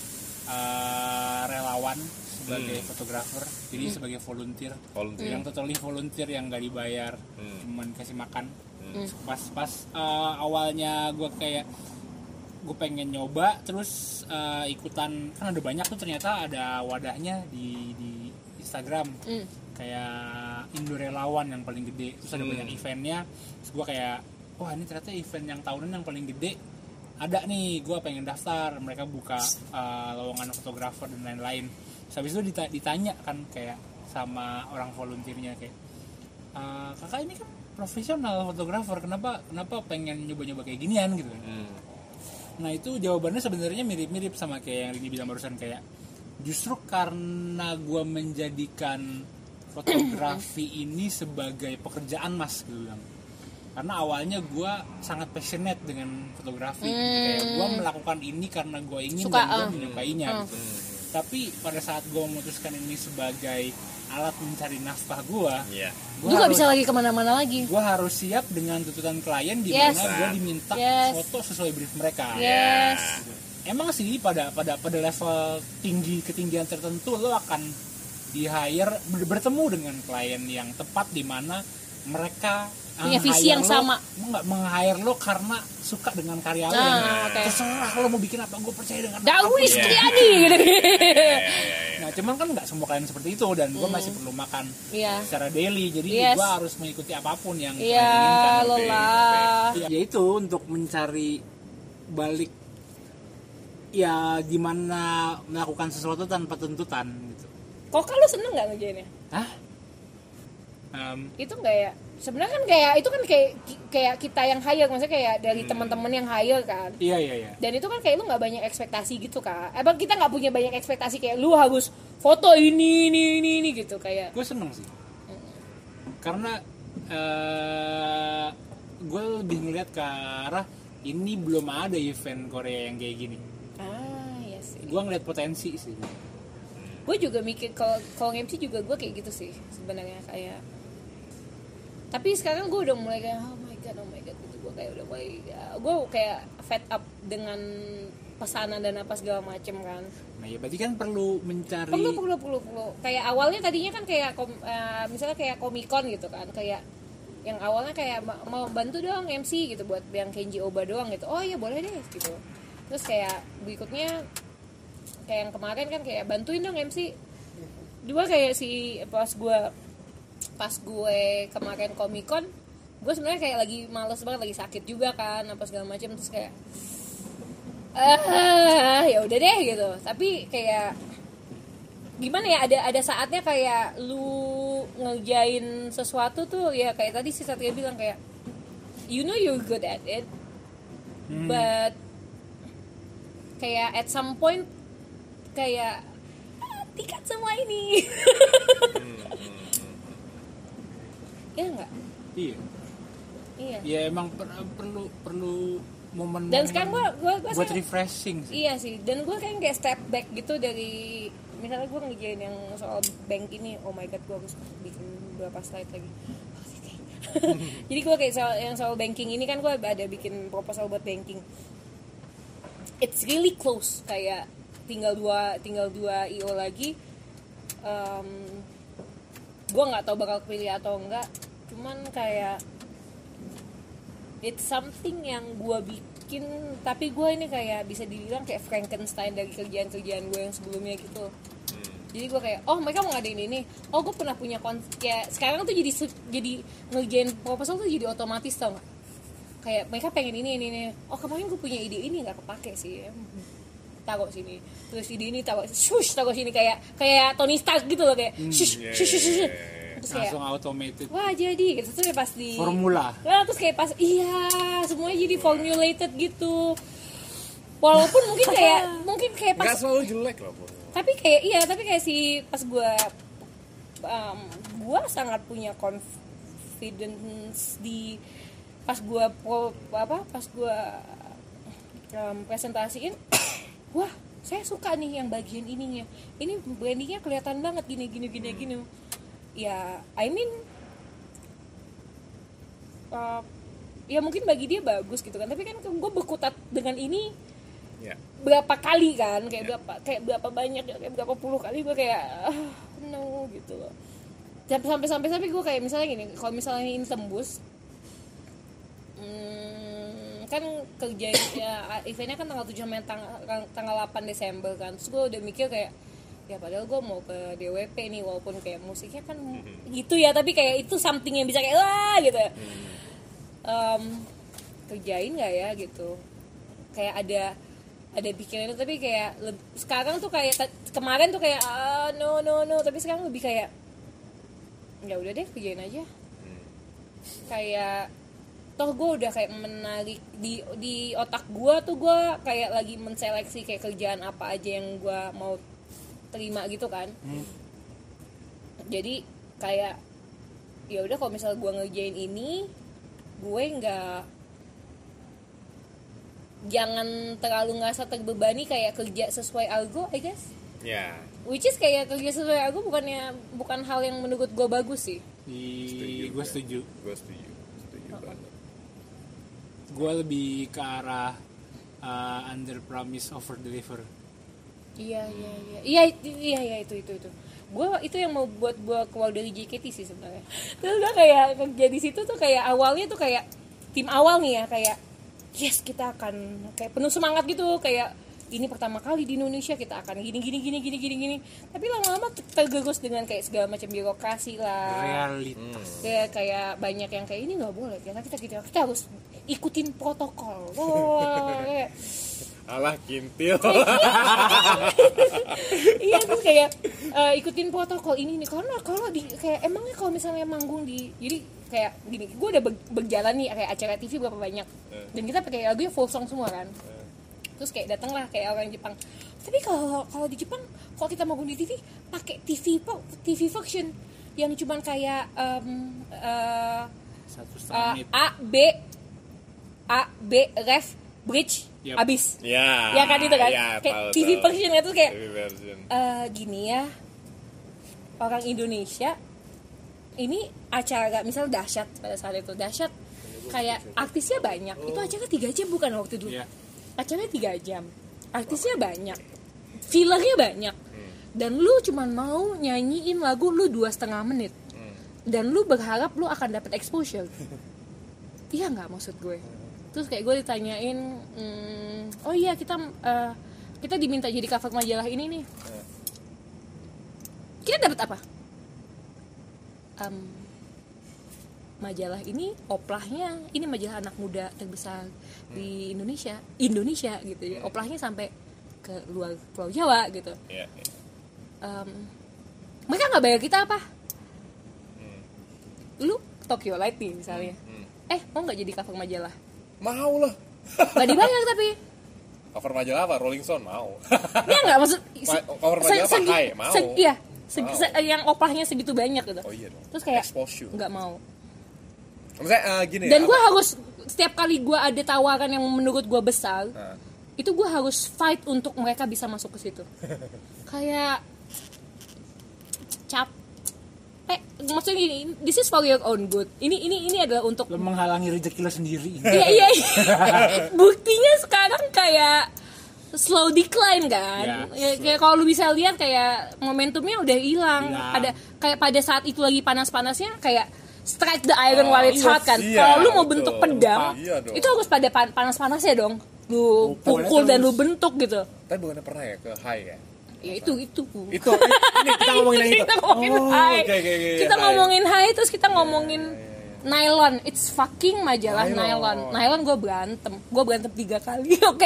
uh, relawan sebagai hmm. fotografer, jadi hmm. sebagai volunteer, volunteer. yang totally volunteer, yang gak dibayar, hmm. cuman kasih makan. Hmm. Pas pas uh, awalnya gue kayak gue pengen nyoba, terus uh, ikutan, kan ada banyak tuh ternyata ada wadahnya di di Instagram, hmm. kayak Indo Relawan yang paling gede, terus ada hmm. banyak eventnya, terus gue kayak wah ini ternyata event yang tahunan yang paling gede ada nih, gue pengen daftar. Mereka buka uh, lowongan fotografer dan lain-lain. Terus habis itu ditanya kan kayak sama orang volunteernya kayak uh, kakak ini kan profesional fotografer, kenapa kenapa pengen nyoba-nyoba kayak ginian gitu. Hmm. Nah itu jawabannya sebenarnya mirip-mirip sama kayak yang Rini bilang barusan, kayak justru karena gue menjadikan fotografi ini sebagai pekerjaan mas gitu bilang. Karena awalnya gue sangat passionate dengan fotografi, hmm. kayak gue melakukan ini karena gue ingin Suka, dan gue uh. menyukainya uh. gitu. Tapi pada saat gue memutuskan ini sebagai alat mencari nafkah gue, yeah. gue gak bisa lagi kemana-mana lagi. Gue harus siap dengan tuntutan klien di mana yes. gue diminta yes. foto sesuai brief mereka. Yes. Gitu. Emang sih pada pada pada level tinggi ketinggian tertentu lo akan di hire bertemu dengan klien yang tepat di mana mereka punya visi yang lo, sama, nggak meng-hire lo karena suka dengan karya lo, nah, okay. terserah lo mau bikin apa, gue percaya dengan Daudi Setiadi gitu. Nah cuman kan nggak semua klien seperti itu, dan gue hmm. masih perlu makan yeah. secara daily, jadi yes. gue harus mengikuti apapun yang yeah, inginkan. Lelah. Ya, ya itu untuk mencari balik ya gimana melakukan sesuatu tanpa tuntutan gitu. Kok kalau seneng nggak ngerjainnya? Hah? Um, itu nggak ya? Sebenarnya kan kayak itu kan kayak kayak kita yang hire, maksudnya kayak dari hmm. teman-teman yang hire kan. Iya iya iya. Dan itu kan kayak lu nggak banyak ekspektasi gitu kan. Emang kita nggak punya banyak ekspektasi kayak lu harus foto ini ini ini, ini gitu kayak. Gue seneng sih. Hmm. Karena uh, gue lebih ngeliat ke arah ini belum ada event Korea yang kayak gini. Ah iya sih. Gue ngeliat potensi sih. Gue juga mikir kalau kalau M C juga gue kayak gitu sih sebenarnya kayak. Tapi sekarang gue udah mulai kayak oh my god, oh my god gitu. Gue kayak udah mulai, gue kayak fed up dengan pesanan dan apa segala macem kan. Nah ya berarti kan perlu mencari. Perlu, perlu, perlu, perlu. Kayak awalnya tadinya kan kayak, uh, misalnya kayak Comic-Con gitu kan. Kayak yang awalnya kayak mau bantu dong M C gitu buat yang Kenji Oba doang gitu. Oh iya boleh deh gitu. Terus kayak berikutnya kayak yang kemarin kan kayak bantuin dong M C. Dua kayak si pas gue pas gue kemarin Comic-Con gue sebenarnya kayak lagi males banget, lagi sakit juga kan apa segala macam, terus kayak ah ya udah deh gitu. Tapi kayak gimana ya, ada ada saatnya kayak lu ngerjain sesuatu tuh ya kayak tadi si Satria bilang kayak you know you're good at it, hmm. but kayak at some point kayak ah, tikat semua ini. Ya enggak? Iya. Iya. Ya emang per- perlu perlu momen. Dan sekarang gue gue gue buat refreshing sih. Iya sih. Dan gue kayak kayak step back gitu dari misalnya gue ngerjain yang soal bank ini, oh my god gue harus bikin beberapa slide lagi. Jadi gue kayak soal yang soal banking ini kan gue ada bikin proposal buat banking. It's really close, kayak tinggal dua tinggal dua I O lagi. Um, gue nggak tahu bakal pilih atau enggak. Cuman kayak it's something yang gue bikin, tapi gue ini kayak bisa dibilang kayak Frankenstein dari kerjaan-kerjaan gue yang sebelumnya gitu. Jadi gue kayak, oh mereka mau ngadain ini, oh gue pernah punya konsep, kayak sekarang tuh jadi jadi ngerjain proposal tuh jadi otomatis, tau nggak? Kayak mereka pengen ini ini ini, oh kemarin gue punya ide ini nggak kepake sih, taruh sini, terus ide ini taruh, shush taruh sini, kayak kayak Tony Stark gitu loh, kayak shush yeah, shush shush, yeah, shush. Terus kayak, langsung automated. Wah jadi, gitu tuh kayak pas di formula. Nah terus kayak pas, iya semuanya jadi formulated gitu. Walaupun mungkin kayak mungkin kayak pas nggak selalu jelek loh. Tapi kayak iya, tapi kayak si pas gue um, gue sangat punya confidence di pas gue apa pas gue um, presentasiin, wah saya suka nih yang bagian ininya, ini brandingnya kelihatan banget gini gini gini gini. Ya I mean uh, ya mungkin bagi dia bagus gitu kan, tapi kan gue berkutat dengan ini yeah. berapa kali kan, kayak yeah. berapa kayak berapa banyak, kayak berapa puluh kali gue kayak ah, no gitu loh. Sampai sampai sampai gue kayak misalnya gini, kalau misalnya ini tembus, hmm, kan kerja ya, eventnya kan tanggal tujuh sampai tanggal, tanggal delapan Desember kan, terus gue udah mikir kayak ya padahal gue mau ke D W P nih, walaupun kayak musiknya kan mm-hmm. gitu ya, tapi kayak itu something yang bisa kayak wah gitu ya. Um, kerjain nggak ya gitu, kayak ada ada pikiran itu, tapi kayak le- sekarang tuh kayak t- kemarin tuh kayak ah, no no no, tapi sekarang lebih kayak ya udah deh kerjain aja. Kayak toh gue udah kayak menarik di di otak gue tuh, gue kayak lagi menseleksi kayak kerjaan apa aja yang gue mau terima gitu kan. hmm. Jadi kayak ya udah kalau misalnya gue ngerjain ini, gue nggak jangan terlalu ngerasa terbebani kayak kerja sesuai algo, I guess. Ya. Yeah. Which is kayak kerja sesuai algo bukannya bukan hal yang menurut gue bagus sih. Di gue setuju. Gue setuju. Setuju oh. banget. Gue lebih ke arah uh, under promise over deliver. Iya iya iya iya iya iya itu itu itu. Gue itu yang mau buat gue keluar dari J K T sih sebenarnya. Terus gue kayak kerja di situ tuh kayak awalnya tuh kayak tim awal nih ya, kayak yes kita akan kayak penuh semangat gitu, kayak ini pertama kali di Indonesia kita akan gini gini gini gini gini gini. Tapi lama-lama tergerus dengan kayak segala macam birokrasi lah. Realitas. Ya, kayak banyak yang kayak ini nggak boleh. Karena kita kita kita harus ikutin protokol. Oh, kayak alah kintil. Iya terus kayak uh, ikutin protokol ini nih, karena kalau di kayak emangnya kalau misalnya manggung di, jadi kayak gini, gue udah berjalan nih kayak acara T V berapa banyak, dan kita pakai lagunya full song semua kan. Terus kayak datang lah kayak orang Jepang, tapi kalau kalau di Jepang kalau kita manggung di T V pakai T V T V function yang cuman kayak um, uh, satu setengah menit uh, A B A B ref bridge yep. Abis ya, ya kan itu kan ya, kayak tahu, T V tahu. version itu kayak uh, gini ya, orang Indonesia ini acara misalnya dahsyat, pada saat itu dahsyat kayak artisnya banyak, itu acara tiga jam bukan waktu dulu, yeah. acaranya tiga jam, artisnya banyak, fillernya banyak, hmm. dan lu cuman mau nyanyiin lagu lu dua setengah menit, hmm. dan lu berharap lu akan dapat exposure. Iya nggak maksud gue? Terus kayak gue ditanyain, mm, oh iya kita uh, kita diminta jadi cover majalah ini nih. Kita dapat apa? Um, majalah ini oplahnya ini majalah anak muda terbesar di Indonesia Indonesia gitu ya, oplahnya sampai ke luar Pulau Jawa gitu. Yeah, yeah. Um, mereka nggak bayar kita apa? Hmm. Lu Tokyo Light nih misalnya, Hmm. eh mau nggak jadi cover majalah? Mau lah. Nggak dibayar tapi. Cover majalah apa? Rolling Stone mau. Ya nggak maksud. Ma- cover majalah apa? Hai, mau. Se- iya, se- Mau. se- yang oplahnya segitu banyak gitu. Oh iya dong. Terus kayak Expose you. nggak mau. Maksudnya uh, gini. Dan apa- gue harus setiap kali gue ada tawaran yang menurut gue besar, Nah. itu gue harus fight untuk mereka bisa masuk ke situ. Kayak capek, maksudnya gini, this is for your own good. Ini ini ini adalah untuk Lo menghalangi rezeki lo sendiri. iya iya. Buktinya sekarang kayak slow decline kan. Ya, Ya, kayak kalau lu bisa lihat kayak momentumnya udah hilang. Hilang. Pada kayak pada saat itu lagi panas-panasnya kayak strike the iron while it's iya, hot kan. iya, Kalau lu mau betul. bentuk pedang, Iya dong. itu harus pada pan- panas-panasnya dong. Lu Pukulnya pukul dan terus. lu bentuk gitu. Tapi bukannya pernah ya ke high ya? Ya itu itu. Itu ini kita ngomongin yang itu. Kita ngomongin Oh, high. oke, oke, oke, Kita high. ngomongin high terus kita ngomongin nylon. It's fucking majalah Nylon. nylon. Nylon gue berantem. Gue berantem tiga kali, oke?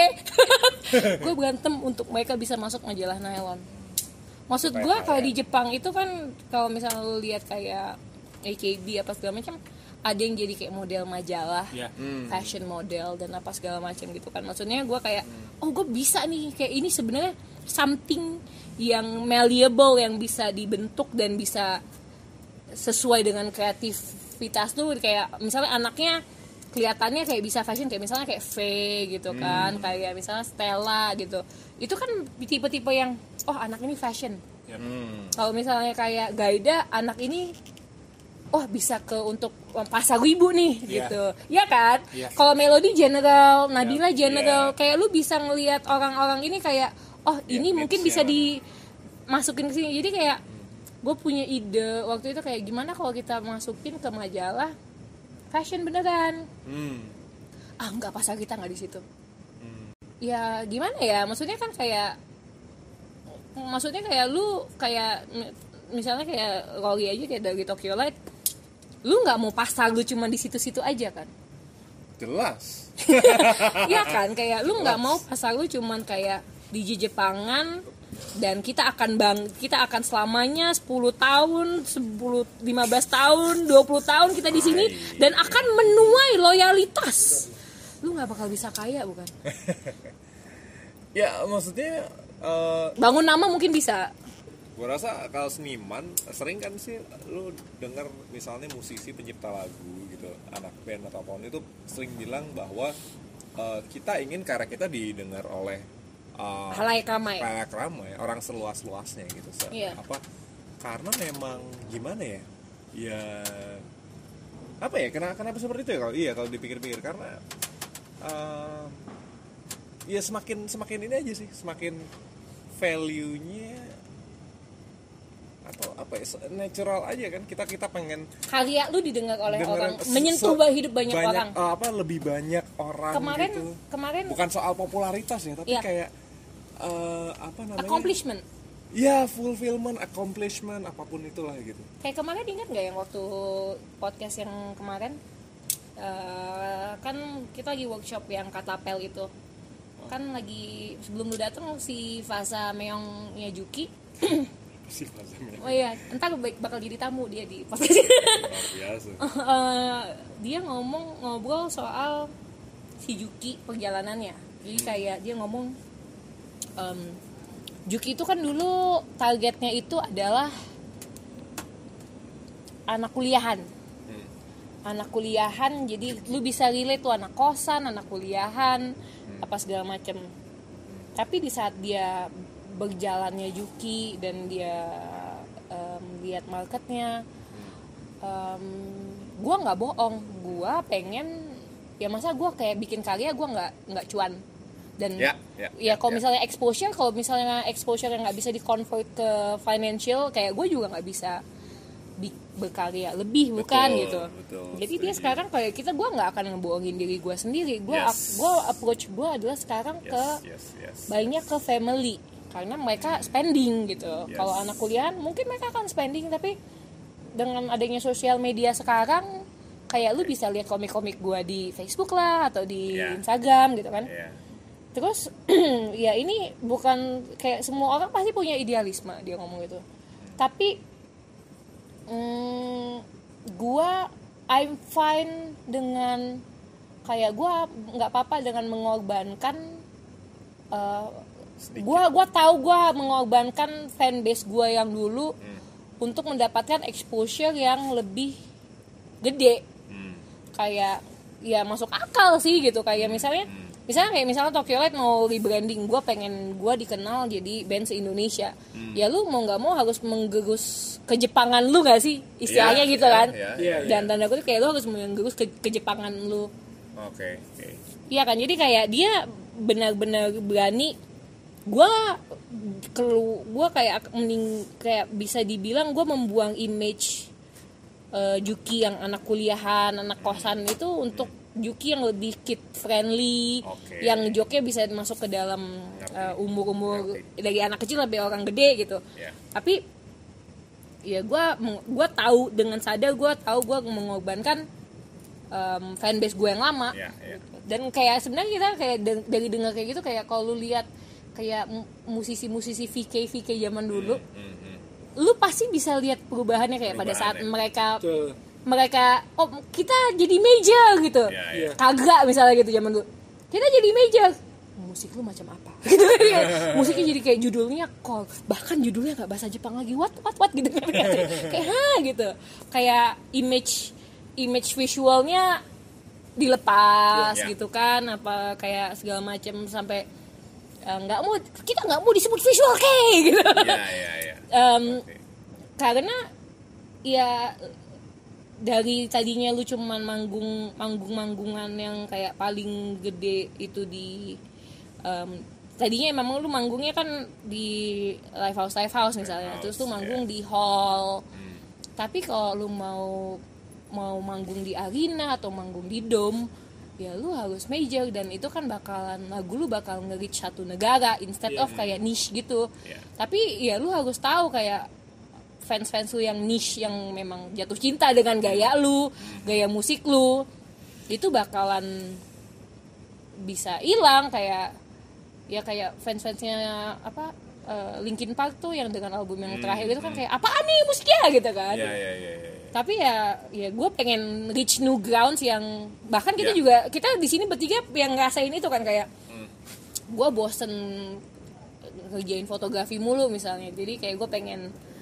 Gue berantem untuk mereka bisa masuk majalah nylon. Maksud gue kalau di Jepang itu kan kalau misalnya lu lihat kayak A K B apa segala macam, ada yang jadi kayak model majalah, Ya. fashion model dan apa segala macam gitu kan. Maksudnya gue kayak, oh gue bisa nih kayak ini sebenarnya something yang malleable yang bisa dibentuk dan bisa sesuai dengan kreativitas tuh. Kayak misalnya anaknya kelihatannya kayak bisa fashion, kayak misalnya kayak Faye gitu kan, kayak misalnya Stella gitu. Itu kan tipe-tipe yang oh anak ini fashion. Hmm. Kalau misalnya kayak Gaida, anak ini oh bisa ke untuk pasar ibu nih Iya. gitu. Ya kan? Iya. Kalau Melody general, Nabila general, Iya. kayak lu bisa ngelihat orang-orang ini kayak oh ini Iya, mungkin mix-nya bisa dimasukin ke sini. Jadi kayak gue punya ide waktu itu kayak gimana kalau kita masukin ke majalah fashion beneran. Hmm. Ah enggak, pasar kita nggak di situ. Hmm. Ya gimana ya, maksudnya kan kayak maksudnya kayak lu kayak m- misalnya kayak Rolly aja kayak dari Tokyo Light, lu nggak mau pasar lu cuma di situ-situ aja kan. Jelas. Iya kan, kayak lu nggak mau pasar lu cuman kayak di Jepangan dan kita akan bang kita akan selamanya sepuluh tahun, sepuluh lima belas tahun, dua puluh tahun kita di sini dan akan menuai loyalitas. Lu nggak bakal bisa kaya bukan? Ya maksudnya eh, Bangun nama mungkin bisa. gue rasa kalau seniman sering kan sih lu denger misalnya musisi pencipta lagu gitu, anak band atau apapun itu sering bilang bahwa eh, kita ingin karya kita didengar oleh eh, Halayak ramai. halayak ramai, orang seluas-luasnya gitu. Se- Iya. Apa karena memang gimana ya? Ya apa ya? Kenapa kenapa seperti itu ya kalau iya kalau dipikir-pikir karena eh, ya semakin semakin ini aja sih, semakin value-nya atau apa ya, natural aja kan, kita kita pengen Karya lu didengar oleh dengerin orang, se- menyentuh se- hidup banyak, orang. eh, apa lebih banyak orang Kemarin gitu. kemarin Bukan soal popularitas ya, tapi Iya. kayak eh, apa namanya? accomplishment. Ya, fulfillment, accomplishment, apapun itulah gitu. Kayak kemarin ingat nggak yang waktu podcast yang kemarin eh, kan kita lagi workshop yang Katapel itu. Kan lagi sebelum lu datang si Fasa Meongnya Juki. Si Fazamnya Oh iya, entar bak- bakal jadi tamu dia di podcast ini. luar biasa. Eh, dia ngomong ngobrol soal si Juki perjalanannya. Jadi kayak dia ngomong em, Juki itu kan dulu targetnya itu adalah anak kuliahan. Hmm. Anak kuliahan, jadi lu bisa relate tuh anak kosan, anak kuliahan, apa segala macem. Tapi di saat dia berjalannya Juki dan dia em, lihat marketnya, um, gue nggak bohong, gue pengen ya masa gue kayak bikin karya gue nggak nggak cuan dan Ya, ya, ya kalau ya. misalnya exposure kalau misalnya exposure yang nggak bisa di convert ke financial kayak gue juga nggak bisa bi- berkarya lebih bukan Betul, gitu. betul, Jadi dia setuju. sekarang kayak kita gue nggak akan ngebohongin diri gue sendiri, gue Yes. gue approach gue adalah sekarang Yes, ke yes, yes. banyak ke family karena mereka spending gitu. Yes. Kalau anak kuliahan mungkin mereka akan spending, tapi dengan adanya sosial media sekarang kayak lu bisa lihat komik-komik gue di Facebook lah atau di Yeah. Instagram gitu kan. Iya. Terus ya ini bukan kayak semua orang pasti punya idealisme dia ngomong gitu. Tapi mm, gue I'm fine dengan kayak gue nggak apa-apa dengan mengorbankan. Uh, gue gue tahu gue mengorbankan fanbase gue yang dulu hmm. untuk mendapatkan exposure yang lebih gede. Hmm. Kayak ya masuk akal sih gitu kayak misalnya hmm. misalnya kayak misalnya Tokyo Light mau rebranding, gue pengen gue dikenal jadi band se-Indonesia. Hmm. Ya lu mau nggak mau harus menggerus kejepangan lu nggak sih istilahnya yeah, gitu yeah, kan? Yeah, yeah, Dan yeah. tanda kutip kayak lu harus menggerus ke kejepangan lu. Oke. Okay, okay. Iya kan, jadi kayak dia benar-benar berani. Gue kelu, gue kayak mending kayak bisa dibilang gue membuang image uh, Juki yang anak kuliahan, anak kosan itu untuk Juki yang lebih kid friendly, okay. yang joknya bisa masuk ke dalam uh, umur-umur Ngerti. dari anak kecil sampai orang gede gitu. Yeah. Tapi ya gue gue tahu dengan sadar gue tahu gue mengorbankan um, fanbase gue yang lama. Yeah, yeah. Dan kayak sebenarnya kita kayak dari dengar kayak gitu kayak kalau lu lihat kayak musisi-musisi V K V K zaman dulu, mm, mm, mm. lu pasti bisa lihat perubahannya kayak perubahannya. pada saat mereka Betul. mereka oh kita jadi major gitu, yeah, yeah. kagak misalnya gitu zaman dulu kita jadi major, musik lu macam apa gitu musiknya jadi kayak judulnya call, bahkan judulnya nggak bahasa Jepang lagi, what what what gitu kayak ha gitu, kayak image image visualnya dilepas yeah, yeah. gitu kan, apa kayak segala macam sampai nggak uh, mau kita nggak mau disebut visual kayak gitu yeah, yeah, yeah. Um, okay. karena ya dari tadinya lu cuman manggung manggung-manggungan yang kayak paling gede itu di um, tadinya memang lu manggungnya kan di live house live house misalnya, live terus house, lu manggung yeah. di hall. Hmm. Tapi kalau lu mau mau manggung di arena atau manggung di dome, ya lu harus major, dan itu kan bakalan lagu lu bakal nge-reach satu negara instead yeah, of kayak niche gitu. Yeah. Tapi ya lu harus tahu kayak fans-fans lu yang niche yang memang jatuh cinta dengan gaya lu, gaya musik lu, itu bakalan bisa hilang kayak ya kayak fans-fansnya apa uh, Linkin Park tuh yang dengan album yang terakhir hmm, itu kan kayak apaan nih musiknya gitu kan. Yeah, yeah, yeah, yeah. Tapi ya ya gue pengen reach new grounds yang bahkan kita yeah. juga kita di sini bertiga yang ngerasain itu kan kayak hmm. gue bosen ngerjain fotografi mulu misalnya, jadi kayak gue pengen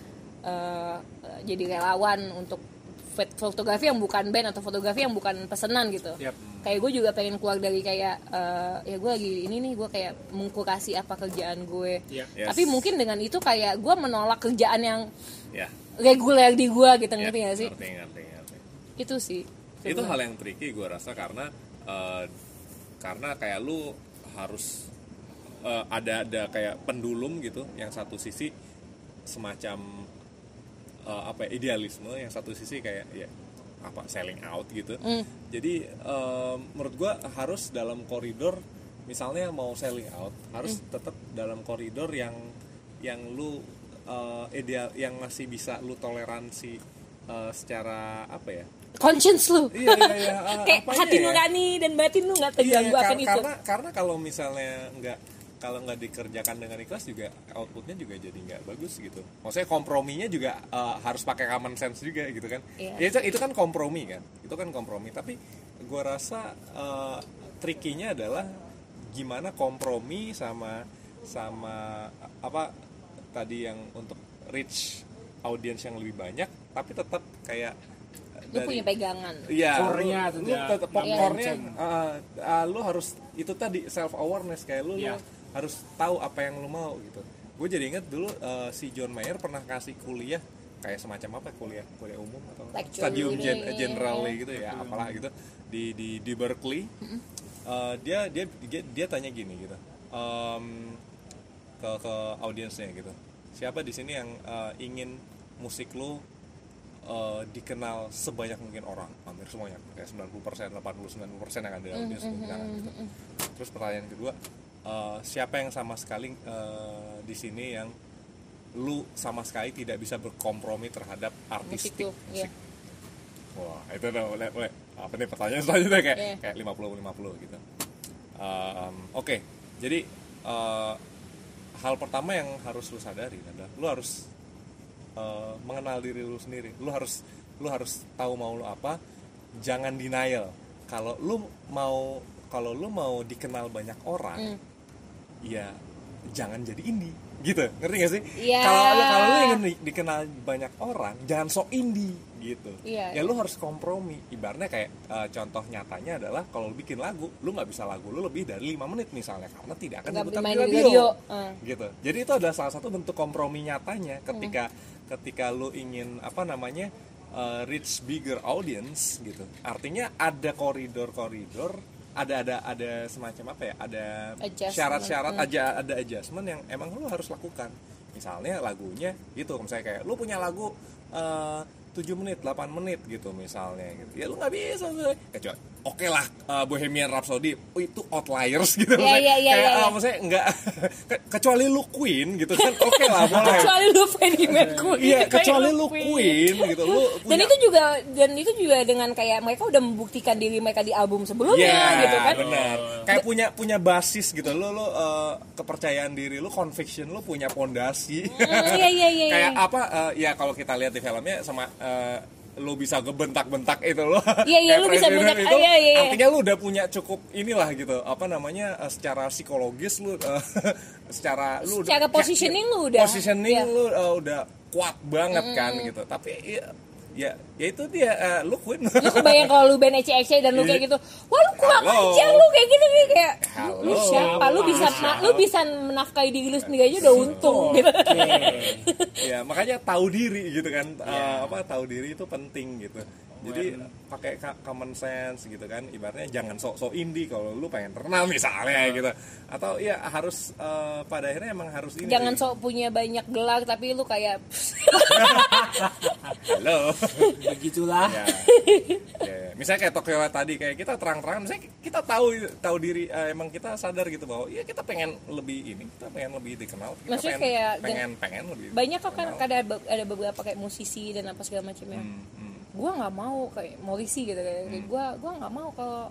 Uh, jadi relawan untuk fotografi yang bukan band atau fotografi yang bukan pesanan gitu. Yep. Kayak gue juga pengen keluar dari kayak uh, ya gue lagi ini nih gue kayak mengkurasi apa kerjaan gue. Yep. Yes. Tapi mungkin dengan itu kayak gue menolak kerjaan yang yeah. reguler di gue gitu, yeah. ngerti gak sih? Ngerti, ngerti, ngerti. Itu sih. Itu hal yang tricky gue rasa karena uh, karena kayak lu harus uh, ada ada kayak pendulum gitu, yang satu sisi semacam Uh, apa ya, idealisme, yang satu sisi kayak ya apa selling out gitu. Mm. Jadi uh, menurut gue harus dalam koridor, misalnya mau selling out harus mm. tetap dalam koridor yang yang lu uh, ideal, yang masih bisa lu toleransi uh, secara apa ya, conscience lu. Iya iya iya. Uh, kayak hati nurani ya? Dan batin lu nggak terganggu iya, akan kar- itu. Karena karena kalau misalnya nggak kalau nggak dikerjakan dengan ikhlas juga outputnya juga jadi nggak bagus gitu. Maksudnya komprominya juga uh, harus pakai common sense juga gitu kan. Yeah. Ya, itu, itu kan kompromi kan. Itu kan kompromi. Tapi gue rasa uh, tricky-nya adalah gimana kompromi sama sama apa tadi yang untuk reach audience yang lebih banyak, tapi tetap kayak lu dari, punya pegangan. Iya. Core-nya lu, lu tetap popcorn-nya uh, uh, lu harus itu tadi self awareness kayak lu, yeah. lu harus tahu apa yang lu mau gitu. Gue jadi inget dulu uh, si John Mayer pernah kasih kuliah kayak semacam apa, kuliah kuliah umum atau Lecture stadium gen, general ya, gitu ya, apalah gitu di di di Berkeley. Mm-hmm. Uh, dia, dia dia dia tanya gini gitu um, ke ke audiensnya gitu, siapa di sini yang uh, ingin musik lu uh, dikenal sebanyak mungkin orang, hampir semuanya kayak sembilan puluh persen, delapan puluh sembilan puluh persen yang ada di audiens mm-hmm. misalkan gitu. Terus pertanyaan kedua, Uh, siapa yang sama sekali uh, di sini yang lu sama sekali tidak bisa berkompromi terhadap artistik musik, musik. Wah, itu udah mulai, mulai apa nih pertanyaan selanjutnya kayak Yeah. kayak lima puluh lima puluh gitu. Um, Oke, okay. Jadi uh, hal pertama yang harus lu sadari adalah lu harus uh, mengenal diri lu sendiri. Lu harus lu harus tahu mau lu apa. Jangan denial. Kalau lu mau kalau lu mau dikenal banyak orang, mm. ya jangan jadi indie. Gitu, ngerti gak sih? Yeah. Kalau lu kalau lu ingin di- dikenal banyak orang, jangan sok indie gitu. Yeah, ya yeah. lu harus kompromi. Ibaratnya kayak uh, contoh nyatanya adalah kalau lu bikin lagu, lu nggak bisa lagu lu lebih dari lima menit misalnya karena tidak akan Nggak diputar di main di radio. radio. Uh. Gitu. Jadi itu adalah salah satu bentuk kompromi nyatanya ketika hmm. ketika lu ingin apa namanya? Uh, reach bigger audience gitu. Artinya ada koridor-koridor ada ada ada semacam apa ya, ada adjustment. syarat-syarat hmm. aja, ada adjustment yang emang lu harus lakukan. Misalnya lagunya itu, misalnya kayak lu punya lagu uh, tujuh menit, delapan menit gitu misalnya gitu. Ya lu nggak bisa kecuali oke okay lah uh, Bohemian Rhapsody oh, itu outliers gitu. Yeah, yeah, yeah, kayak yeah, yeah. Uh, maksudnya enggak kecuali lu Queen gitu kan oke okay lah boleh. Kecuali lu Freddie Mercury. Iya, kecuali lu Queen gitu. Lu punya... Dan itu juga dan itu juga dengan kayak mereka udah membuktikan diri mereka di album sebelumnya yeah, gitu kan. Benar. Kayak punya punya basis gitu. Lu lu uh, kepercayaan diri lu, conviction lu punya pondasi. Mm, iya iya iya. Kayak apa uh, ya kalau kita lihat di filmnya sama uh, lu bisa gebentak-bentak itu lo. Iya iya lu bisa bentak itu, iya, iya. artinya lu udah punya cukup inilah gitu. Apa namanya uh, secara psikologis lu uh, secara lu secara udah, positioning lu udah positioning iya. lu uh, udah kuat banget mm-hmm. kan gitu. Tapi ya ya, ya itu dia uh, lu Queen. Lu kebayang kalau lu band E C X dan lu kayak gitu. Wah lu kurang Halo. aja lu kayak gini kayak Halo. lu siapa? Lu bisa ma- lu bisa menafkahi diri lu sendiri aja udah untung gitu. Okay. Ya, makanya tahu diri gitu kan. Yeah. Uh, apa tahu diri itu penting gitu. Jadi pakai common sense gitu kan, ibaratnya jangan sok-sok indie kalau lu pengen terkenal misalnya gitu, atau ya harus uh, pada akhirnya emang harus ini. Jangan sok punya banyak gelar tapi lu kayak halo, begitulah. Ya. Ya, misalnya kayak Tokyo tadi kayak kita terang-terangan, misalnya kita tahu tahu diri, uh, emang kita sadar gitu bahwa ya kita pengen lebih ini, kita pengen lebih dikenal, kita maksudnya pengen, kayak pengen pengen lebih. Banyak kok kan ada ada beberapa kayak musisi dan apa segala macamnya. Hmm, hmm. Gue nggak mau kayak Morrissey gitu kayak hmm. gue gue nggak mau kalau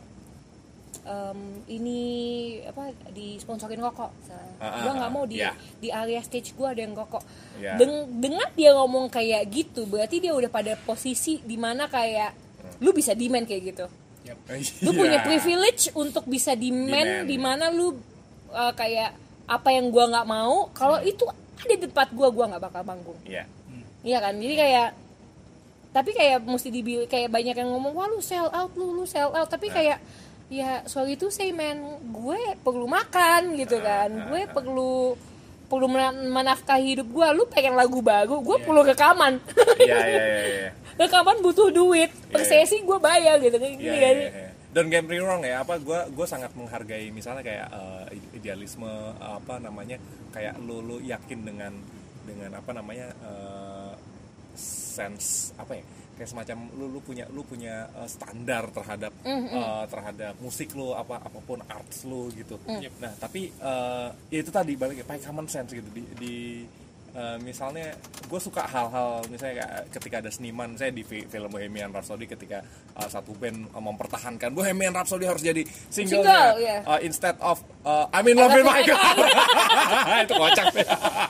um, ini apa disponsorin rokok, uh, gue nggak mau di yeah. di area stage gue ada yang rokok. Yeah. Den- dengan dia ngomong kayak gitu berarti dia udah pada posisi di mana kayak hmm. lu bisa demand kayak gitu. Yep. Lu yeah. punya privilege untuk bisa demand, demand. Di mana lu uh, kayak apa yang gue nggak mau kalau hmm. itu ada di tempat gue gue nggak bakal manggung. Iya. Yeah. Hmm. Iya kan, jadi kayak tapi kayak mesti dibil kayak banyak yang ngomong wah lu sell out lu lu sell out tapi kayak ya sorry itu say man gue perlu makan gitu kan, gue perlu perlu menafkahi hidup gue. Lu pengen lagu baru gue yeah. perlu rekaman. Iya iya iya. Rekaman butuh duit per yeah. sesi gue bayar gitu kan. Yeah, yeah, yeah. Don't get me wrong ya, apa gue gue sangat menghargai misalnya kayak uh, idealisme uh, apa namanya kayak lu lu yakin dengan dengan apa namanya uh, sense apa ya kayak semacam lu lu punya lu punya uh, standar terhadap mm-hmm. uh, terhadap musik lu apa apapun arts lu gitu. Mm. Nah tapi uh, ya itu tadi balik pakai common sense gitu di, di uh, misalnya gue suka hal-hal misalnya ketika ada seniman saya di film Bohemian Rhapsody ketika uh, satu band uh, mempertahankan Bohemian Rhapsody harus jadi single, single yeah. uh, instead of uh, I'm in love with my God. Itu kocak deh.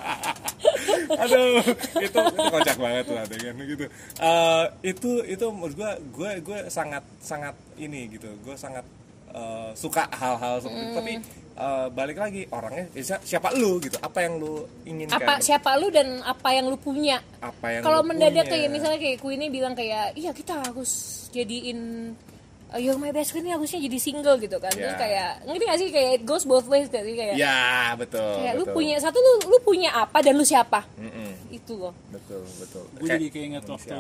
Aduh, itu itu kocak banget lah dengan gitu. Uh, itu itu menurut gue gue gue sangat sangat ini gitu. Gue sangat uh, suka hal-hal seperti mm. itu. Tapi uh, balik lagi orangnya siapa lu gitu. Apa yang lu inginkan? Apa siapa lu dan apa yang lu punya? Apa yang kalau mendadak punya. Kayak misalnya kayak Queen bilang kayak iya kita harus jadiin Uh, You're My Best Friend ini harusnya jadi single gitu kan. Yeah. Terus kayak ngerti gak sih kayak it goes both ways kan sih kayak. Ya, yeah, betul. Kayak betul. lu punya satu lu lu punya apa dan lu siapa? Mm-mm. Itu loh. Betul, betul. Gue jadi keinget waktu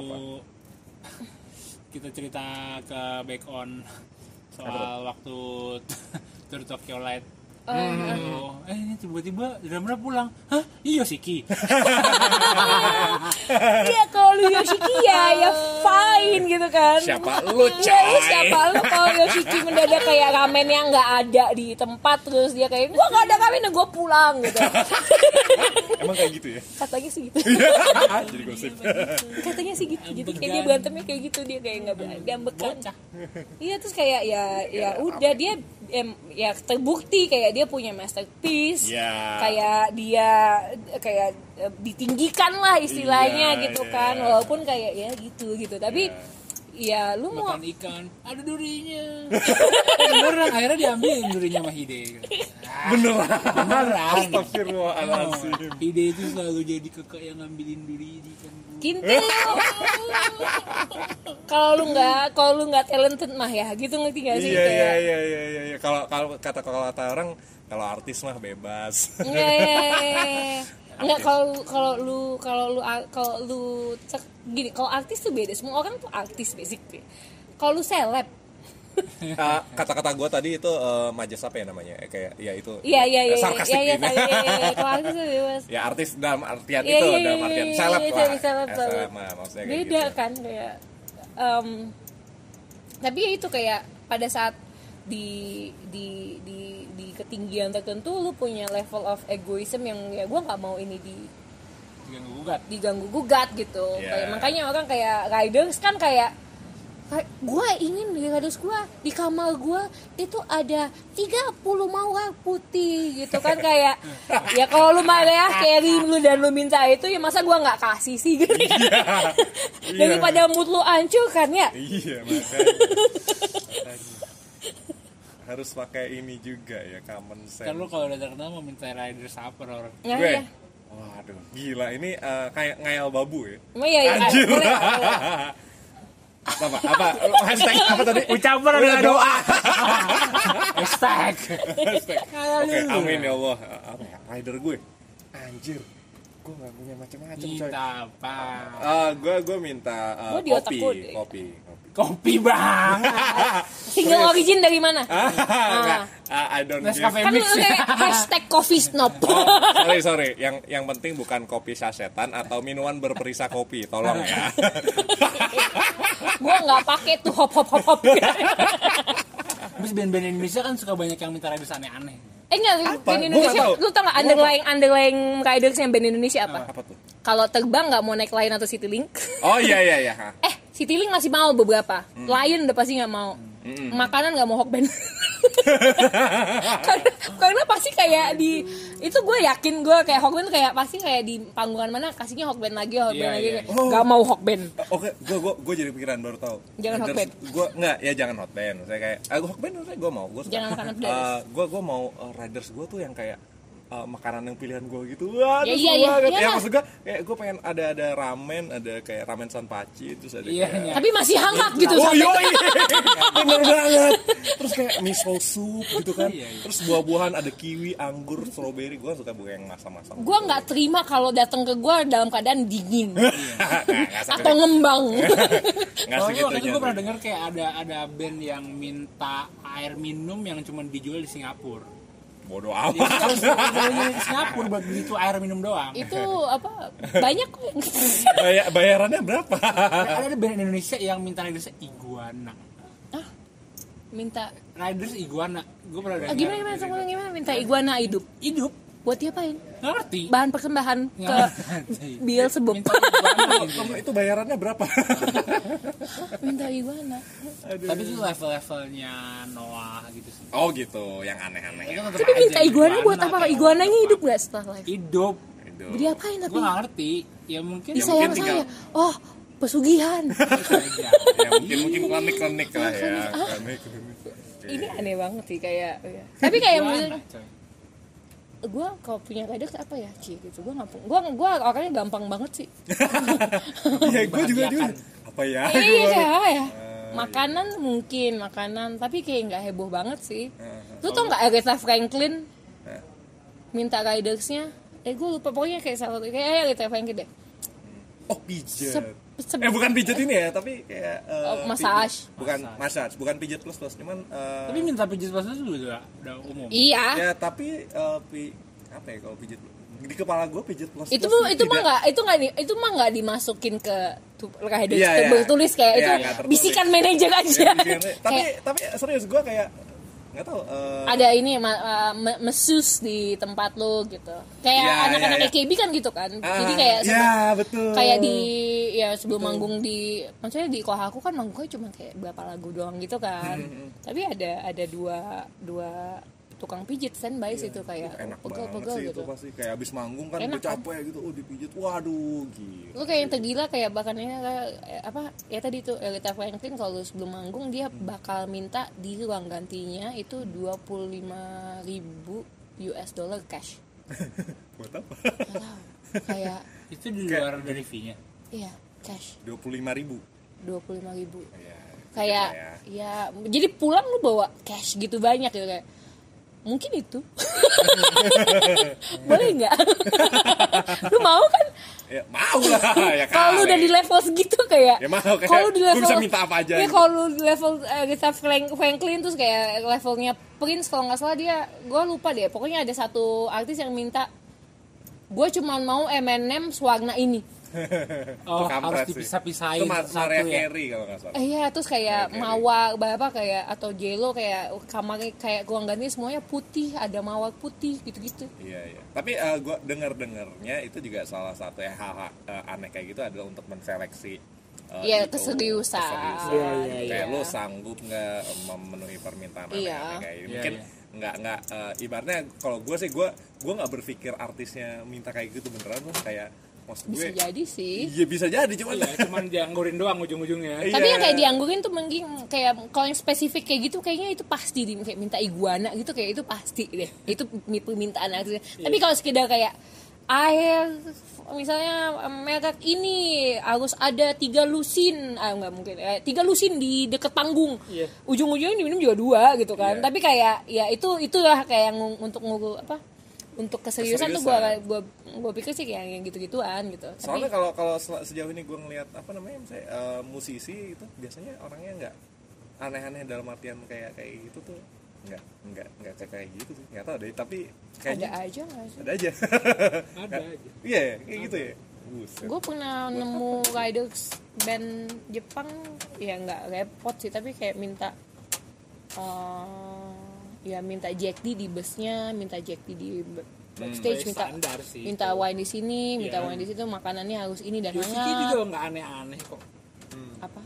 kita cerita ke Back On soal apa? Waktu Tour Tokyo Light. Oh, hmm. eh ini tiba-tiba drummer pulang. Hah? Iya Siki. Iya kalau lu Yoshiki ya ya fine gitu kan. Siapa lu, Iya, lu coy? siapa lu kalau Yoshiki mendadak kayak ramen yang nggak ada di tempat terus dia kayak gua nggak ada ramen, gua pulang gitu. Emang kayak gitu ya? Katanya sih gitu. Jadi gosip. Katanya sih gitu. Jadi kayak dia berantemnya kayak gitu, dia kayak nggak berani diambekan. Iya terus kayak ya ya udah dia em, ya terbukti kayak dia punya masterpiece. Ya. Kayak dia kayak eh, ditinggikan lah istilahnya Iya, gitu iya. kan, walaupun kayak ya gitu gitu tapi ya lu mau Makan ikan, ada durinya. Beneran, akhirnya diambilin durinya sama Hide. Beneran. Beneran. Astagfirullahaladzim. Oh, Hide itu selalu jadi kakak yang ngambilin duri di ikan. kintil. Kalau lu nggak kalau lu nggak talented mah ya gitu, ngerti gak sih? Iya Kayak- iya iya iya iya iya. Kalau kalau kata kalau kata orang kalau artis mah bebas. Iya, iya, iya, iya. Enggak, kalau kalau lu kalau lu kalau lu cek- gini, kalau artis tuh beda, semua orang tuh artis basically. Kalau lu seleb, Uh, kata-kata gue tadi itu uh, majas apa ya namanya? Eh, kayak ya itu. iya iya iya eh, sarkastik iya iya ini. iya, iya, iya. Kalau artis tuh bebas. Ya artis dalam artian Iya, itu, iya, dalam iya, artian iya, seleb iya, lah. seleb, seleb, Eh, seleb. seleb mah, maksudnya kayak Beda gitu. kan kayak em, tapi ya itu kayak pada saat di di di di ketinggian tertentu lu punya level of egoism yang ya gue nggak mau ini di Ganggu gugat. diganggu gugat gitu. Yeah. Kayak makanya orang kayak riders kan kayak gue ingin di riders gue di kamar gue itu ada tiga puluh mawar putih gitu kan, kayak ya kalau lu marah carry lu dan lu minta itu ya masa gue nggak kasih sih gitu. Iya. Daripada mood lu hancur kan ya. Iya makanya. Makanya. Harus pakai ini juga ya, common sense. Kan lu kalau udah terkenal mau minta rider supper orang. Nah, Gue. ya. Waduh, gila ini uh, kayak ngayal babu ya. Emang ya, ya, Anjir. boleh, boleh. apa apa hashtag apa tadi? Ucapan adalah doa. Hashtag. Hashtag. Oke, amin ya Allah. Apa ya? Rider gue. Anjir. Gue gak punya macam-macam coy. Minta apa? Uh, gue gue minta uh, Gua di otak kopi, gua kopi, deh. kopi. Kopi banget. Single origin dari mana? Enggak, uh, I don't give. Nescafe Kan lu mix. kayak hashtag coffee snob. Sorry sorry, yang yang penting bukan kopi sasetan atau minuman berperisa kopi, tolong ya. Gue nggak pakai tuh hop hop hop hop. Terus band-band Indonesia kan suka banyak yang minta riders aneh-aneh. Eh enggak, Apa? band Gua Indonesia. nggak tahu. Lu tau nggak underlying underlying riders yang band Indonesia apa? Apa tuh? Kalau terbang nggak mau naik Lion atau Citylink. Oh iya iya iya. Eh, Citylink masih mau beberapa. Lion udah pasti nggak mau. Makanan nggak mau Hokben. karena, karena pasti kayak di itu gue yakin gue kayak Hokben kayak pasti kayak di panggungan mana kasihnya Hokben lagi Hokben Iya, lagi iya. kayak, nggak mau Hokben. Oke, gue gue gue jadi pikiran baru tahu. Jangan hot band. Gue enggak ya jangan hot band. Saya kayak, ah, gue hot band saya gue mau. Gue Jangan makanan pedas. gue gue mau uh, riders gue tuh yang kayak uh, makanan yang pilihan gue gitu. Wah, Ya, terus iya, gua iya, banget. iya Ya lah. maksud gue kayak gue pengen ada ada ramen, ada kayak ramen sanpachi, terus ada Iya, kayak iya. Tapi masih hangat gitu. Oh sampai- yoi, bener banget. Terus kayak miso soup gitu kan. Iya, iya. Terus buah-buahan ada kiwi, anggur, strawberry. Gue suka buah yang masam-masam. Gue nggak terima kalau datang ke gue dalam keadaan dingin Nggak atau ngembang. Nggak Oh, segitunya. waktu itu gue tuh. pernah dengar kayak ada ada band yang minta air minum yang cuma dijual di Singapura. Bodoh Jadi amat. harus pergi ke Singapura buat beli tuh air minum doang. Itu apa banyak kok yang Bay- bayarannya berapa? Ada ada band Indonesia yang minta riders iguana. minta Riders iguana. Gue pernah dengar. ah, gimana gimana gimana gimana minta iguana hidup Hidup. buat diapain? Nggak ngerti. Bahan persembahan ke Nggak ngerti. Bill sebab Minta iguana. gitu. Kamu itu bayarannya berapa? minta iguana. Tapi itu level-levelnya Noah gitu sih. Oh gitu, yang aneh-aneh. Itu tetep Tapi aja minta iguana buat apa? kayak Iguananya apa. hidup nggak setelah live? Hidup. Itu. Diapain tapi? Gue nggak ngerti. Ya mungkin. Disayang mungkin saya. tinggal- Oh pesugihan. aja. Ya mungkin mungkin klinik-klinik lah ya. Klinik-klinik. Ini aneh banget sih kayak. Ya. Tapi kayak Iguana, coy. gue kalau punya riders apa ya Ci gitu gue nggak gue gue orangnya gampang banget sih. Iya, gue juga juga. Apa ya? Iya apa ya makanan mungkin makanan tapi kayak nggak heboh banget sih. Lu tau nggak Aretha Franklin minta ridersnya eh gue lupa pokoknya kayak salah kayak Aretha Franklin deh. Oh pijat. Se- se- Eh bukan pijat ini ya, tapi kayak eh, Oh, massage. pi- Bukan massage, bukan pijat plus plus, cuman eh, Tapi minta pijit pas itu udah udah umum. Iya ya tapi eh, pi, apa ya kalau pijat di kepala gue pijat plus itu plus itu mah tidak- nggak itu nggak di- itu mah nggak dimasukin ke tuh kayak Iya, iya. bertulis kayak Iya, itu nggak tertulis. bisikan manajer aja. Ya, bisikan- tapi Kayak tapi serius gue kayak nggak tahu. eh, ada ini ma- uh, me- mesus di tempat lo gitu. Kayak Iya, anak-anak iya, A K B kan gitu kan. ah, Jadi kayak ya sebe- betul. kayak di ya sebelum manggung di maksudnya di Kohaku kan manggungnya cuma kayak berapa lagu doang gitu kan. Hmm, Tapi ada ada dua dua tukang pijit standby situ kayak enak banget pegel-pegel sih gitu. itu pasti kayak abis manggung kan Enak gue capek gitu, oh dipijit, waduh gila. Lu kayak yang tergila kayak bahkan ini eh, apa ya tadi tuh Aretha Franklin kalau sebelum manggung dia bakal minta di ruang gantinya itu dua puluh lima ribu U S dollar cash. Buat apa? Nggak tahu. Kayak Itu di luar dari fee-nya. iya cash dua puluh lima ribu. dua puluh lima ribu. Ya, Kayak gitu ya jadi pulang lu bawa cash gitu banyak gitu kayak mungkin itu boleh nggak? Lu mau kan? ya mau lah ya Kalau lu kali. udah di level segitu kayak Ya mau, kayak kalau di gua level bisa minta apa aja ya gitu. kalau lu di level uh, Aretha Franklin terus kayak levelnya Prince kalau nggak salah dia gue lupa deh pokoknya ada satu artis yang minta gue cuma mau M and M warna ini. Oh, Kampret harus sih. dipisah-pisahin Itu Mar- satu Mariah ya. Carey kalau nggak salah. Eh iya terus kayak Oke, oke. mawar berapa kayak atau J-Lo kayak kamar kayak ruang ganti semuanya putih ada mawar putih gitu-gitu. Iya iya. Tapi uh, gue dengar dengarnya itu juga salah satu ya, hal-hal uh, aneh kayak gitu adalah untuk menseleksi. uh, Iya, itu, keseriusan. keseriusan. Iya, iya, Kayak iya. lu sanggup nggak memenuhi permintaan Iya. aneh-aneh kayak gitu. Iya, Mungkin iya. nggak nggak uh, ibaratnya kalau gue sih gue gue nggak berpikir artisnya minta kayak gitu beneran loh kayak maksud Bisa gue. jadi sih. Iya bisa jadi cuman. Iya, cuman dianggurin doang ujung-ujungnya. Iya. Tapi yang kayak dianggurin tuh mungkin kayak kalau yang spesifik kayak gitu kayaknya itu pasti di kayak minta iguana gitu kayak itu pasti deh. Itu permintaan artisnya. Tapi kalau sekedar kayak air misalnya merek ini harus ada tiga lusin ah nggak mungkin eh, tiga lusin di deket panggung Iya. ujung-ujungnya diminum juga dua gitu kan Iya. tapi kayak ya itu itulah kayak yang untuk ngurus apa untuk keseriusan, tuh Keseriusan. gue gue gue pikir sih kayak yang gitu-gituan gitu. Soalnya Tapi kalau kalau sel- sejauh ini gue ngelihat apa namanya misalnya eh, musisi itu biasanya orangnya nggak aneh-aneh dalam artian kayak kayak gitu tuh nggak nggak nggak kayak kayak gitu sih nggak tahu deh tapi ada kayaknya aja nggak sih? ada aja Ada aja. iya ya, kayak gitu ya. Buset. Gue pernah nemu riders band Jepang ya nggak repot sih tapi kayak minta uh, ya minta Jack D di busnya, minta Jack D di backstage, Hmm, minta standar sih minta itu. wine di sini, minta Iya. wine di situ, makanannya harus ini dan Yosiki hangat. juga nggak aneh-aneh kok. Apa?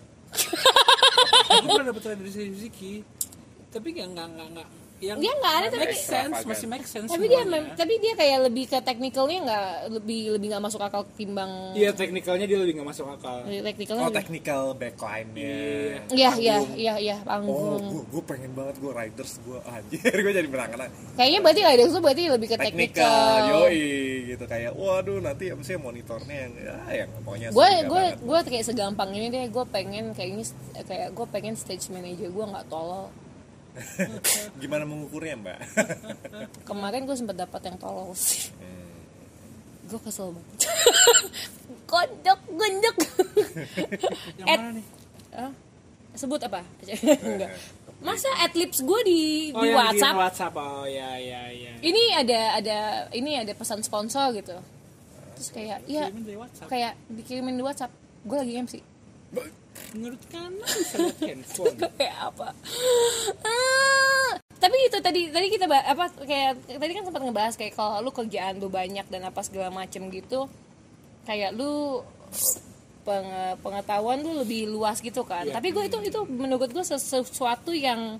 Aku pernah dapet dari Yosiki, tapi nggak nggak nggak nggak yang Dia nggak aneh, tapi- make sense, masih make sense. Tapi dia semuanya. mem- tapi dia kayak lebih ke teknikalnya nggak lebih lebih nggak masuk akal timbang Iya, teknikalnya dia lebih nggak masuk akal. teknikalnya. Oh technical backline-nya. Iya iya iya iya Oh, panggung. gue gue pengen banget gue riders gue anjir gue jadi berangan Kayaknya berarti riders tuh berarti lebih ke technical, teknikal. yoi gitu kayak waduh nanti apa sih monitornya yang ya yang pokoknya gue sehingga gue banget. gue kayak segampang ini deh gue pengen kayaknya kayak gue pengen stage manager gue nggak tolol. Gimana mengukurnya mbak? Kemarin gue sempet dapat yang tolol sih. Hmm. Gue kesel banget. Gondok gondok. Yang At- mana nih? Hah? Sebut apa? Enggak. Masa adlibs gue di Oh, di yang WhatsApp? di WhatsApp. Oh ya ya ya. Ini ada ada ini ada pesan sponsor gitu. Terus kayak ya Kirimin dari WhatsApp. kayak dikirimin di WhatsApp. Gue lagi M C. Menurut kanan bisa lihat handphone. Kayak apa? Ah, tapi itu tadi tadi kita bah- apa kayak tadi kan sempat ngebahas kayak kalau lu kerjaan lu banyak dan apa segala macem gitu, kayak lu peng- pengetahuan lu lebih luas gitu kan. Iya. Tapi gue itu itu menurut gue sesuatu yang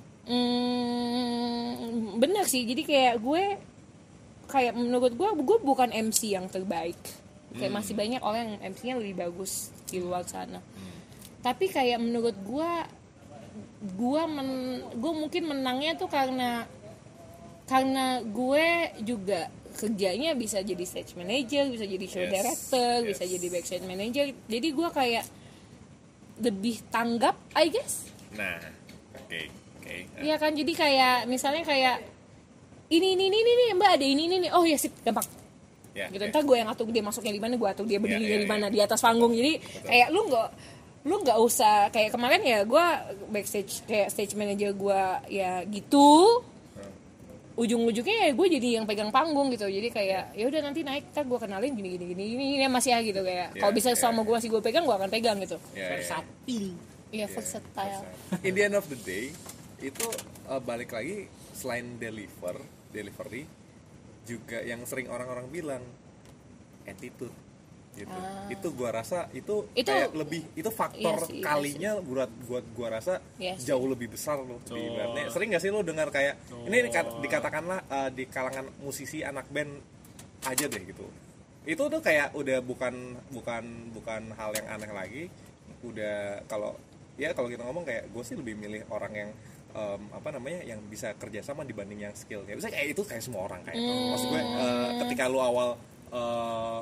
mm, benar sih. Jadi kayak gue kayak menurut gue gue bukan M C yang terbaik. Kayak masih banyak orang yang M C-nya lebih bagus di luar sana. Tapi kayak menurut gue gue men gue mungkin menangnya tuh karena karena gue juga kerjanya bisa jadi stage manager, bisa jadi show Yes, director, yes. bisa jadi backstage manager. Jadi gue kayak lebih tanggap, I guess. Nah, oke oke. Iya kan, jadi kayak misalnya kayak ini ini ini ini mbak ada ini ini, ini. Oh ya sip gampang. Ya, Gitu ya. ntar gue yang atur dia masuknya di mana, gue atur dia berdiri Ya, ya, dari ya. mana di atas panggung. Jadi kayak lu nggak lu nggak usah kayak kemarin ya gue backstage kayak stage manager gue ya gitu. ujung-ujungnya ya gue jadi yang pegang panggung gitu. Jadi kayak ya udah nanti naik ntar gue kenalin gini gini gini ini ya Mas ya gitu kayak. Yeah, kalau bisa yeah, sama gue masih gue pegang gue akan pegang gitu. Yeah, versatil. Iya yeah, versatile. In the end of the day itu uh, balik lagi selain deliver, delivery juga yang sering orang-orang bilang attitude gitu. Ah. Itu gua rasa itu, itu kayak lebih itu faktor iya sih, kalinya iya buat buat gua rasa iya jauh lebih besar loh. Oh. Di sering gak sih lo dengar kayak oh. ini dikatakanlah uh, di kalangan musisi anak band aja deh gitu. Itu tuh kayak udah bukan bukan bukan hal yang aneh lagi. Udah kalau ya kalau kita ngomong kayak gue sih lebih milih orang yang um, apa namanya yang bisa kerjasama dibanding yang skill. Ya bisa kayak itu kayak semua orang kayak. Hmm. Maksud gue uh, ketika lu awal uh,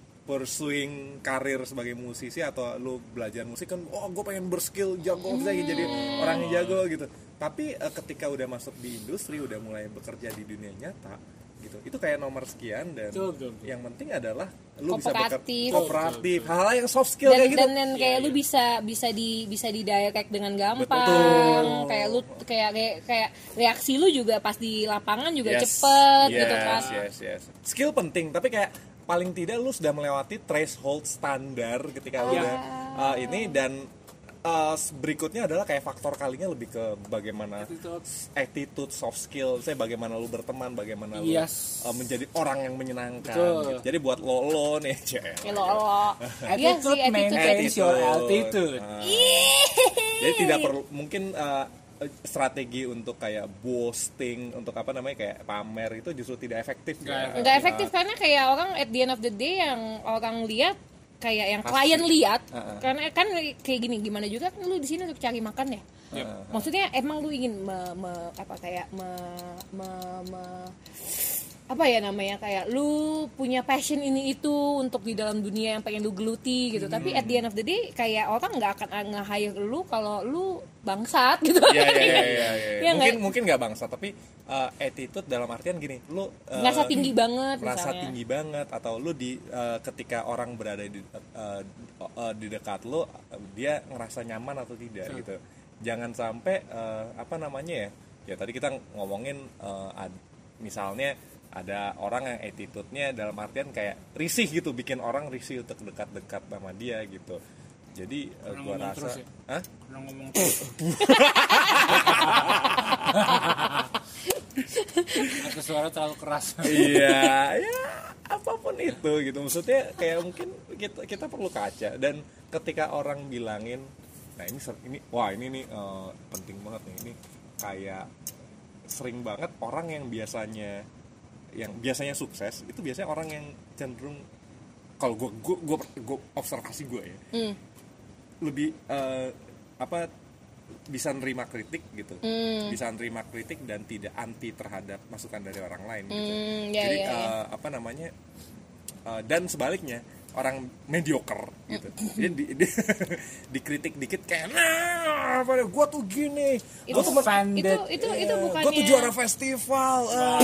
pursuing karir sebagai musisi atau lu belajar musik kan, oh gue pengen berskill jago bisa jadi orang yang jago gitu. Tapi uh, ketika udah masuk di industri, udah mulai bekerja di dunia nyata gitu, itu kayak nomor sekian dan betul, betul, betul. Yang penting adalah lu bisa bekerja kooperatif, hal-hal yang soft skill dan, kayak gitu. Dan, dan kayak ya, lu ya. bisa bisa di bisa di direct dengan gampang. Betul. Kayak lu kayak, kayak kayak reaksi lu juga pas di lapangan juga yes, cepet yes, gitu kan. Yes, yes. Skill penting, tapi kayak paling tidak lu sudah melewati threshold standar ketika lu udah uh, ini dan uh, berikutnya adalah kayak faktor kalinya lebih ke bagaimana attitude, attitude soft skill, saya bagaimana lu berteman, bagaimana yes. lu uh, menjadi orang yang menyenangkan. Gitu. Jadi buat lo lo nih, cek. Lo lo. Attitude maintains your altitude. Uh, jadi tidak perlu mungkin uh, strategi untuk kayak boasting, untuk apa namanya kayak pamer itu justru tidak efektif. Nggak ya. efektif uh, karena kayak orang at the end of the day yang orang lihat kayak yang klien lihat uh-uh. karena kan kayak gini gimana juga kan lu di sini untuk cari makan ya. Uh-huh. Maksudnya emang lu ingin me, me, apa kayak me, me, me apa ya namanya kayak lu punya passion ini itu untuk di dalam dunia yang pengen lu geluti gitu. Hmm. Tapi at the end of the day kayak orang nggak akan nge-hire lu kalau lu bangsat gitu. Iya iya iya iya. Ya, mungkin gak? mungkin nggak bangsat tapi uh, attitude dalam artian gini, lu uh, ngerasa tinggi banget merasa tinggi banget atau lu di uh, ketika orang berada di uh, uh, di dekat lu uh, dia ngerasa nyaman atau tidak hmm. gitu. Jangan sampai uh, apa namanya ya? Ya tadi kita ngomongin uh, ad, misalnya ada orang yang attitude-nya dalam artian kayak risih gitu, bikin orang risih untuk dekat-dekat sama dia gitu. Jadi uh, gua rasa ya? Hah? Kurang ngomong terus. Atau suara terlalu keras. Iya, ya apapun itu gitu. Maksudnya kayak mungkin kita kita perlu kaca dan ketika orang bilangin, nah ini ini wah ini nih uh, penting banget nih ini kayak sering banget orang yang biasanya yang biasanya sukses itu biasanya orang yang cenderung kalau gue gue gue gue observasi gue ya mm. lebih uh, apa bisa nerima kritik gitu mm. bisa nerima kritik dan tidak anti terhadap masukan dari orang lain gitu mm, yeah, jadi yeah, uh, yeah. apa namanya uh, dan sebaliknya orang mediocre gitu jadi di, di, dikritik dikit kayak nah apa gue tuh gini itu gue tuh itu itu, itu, itu bukannya gue tuh juara festival wow.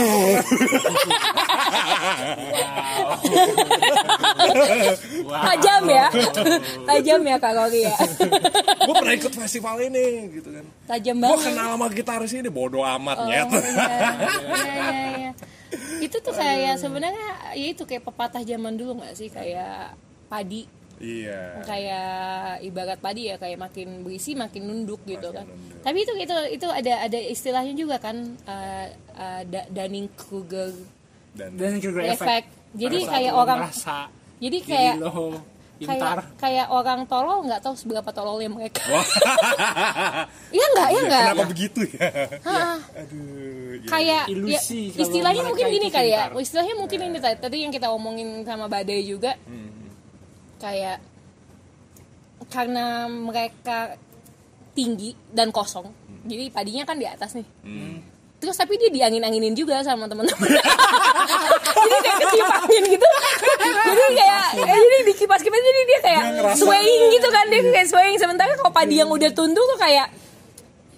wow. tajam ya tajam ya Kak Rory ya gue pernah ikut festival ini gitu kan tajam banget gue kenal sama gitaris ini bodo amat oh, nyet iya, iya, iya. Itu tuh kayak sebenarnya ya itu kayak pepatah zaman dulu nggak sih kayak padi iya kayak ibarat padi ya kayak makin berisi makin nunduk gitu makin kan nunduk. Tapi itu itu itu ada ada istilahnya juga kan uh, uh, Dunning-Kruger Dunning-Kruger effect jadi kayak orang merasa jadi kayak lo kayak kayak orang tolol nggak tahu seberapa tololnya mereka. Iya nggak ya nggak. Kenapa begitu ya? Hah. Aduh. Kayak ilusi. Ya, istilahnya mungkin gini kayak istilahnya mungkin nah. ini tadi yang kita omongin sama Badai juga. Hmm. Kayak karena mereka tinggi dan kosong, hmm. jadi padinya kan di atas nih. Hmm. Terus tapi dia diangin-anginin juga sama teman-teman. Jadi kayak ketiup angin gitu. Jadi kayak eh, jadi dikipas-kipas jadi dia kayak swaying gitu kan dia kayak swaying sementara kalau padi yang udah tunduk tuh kayak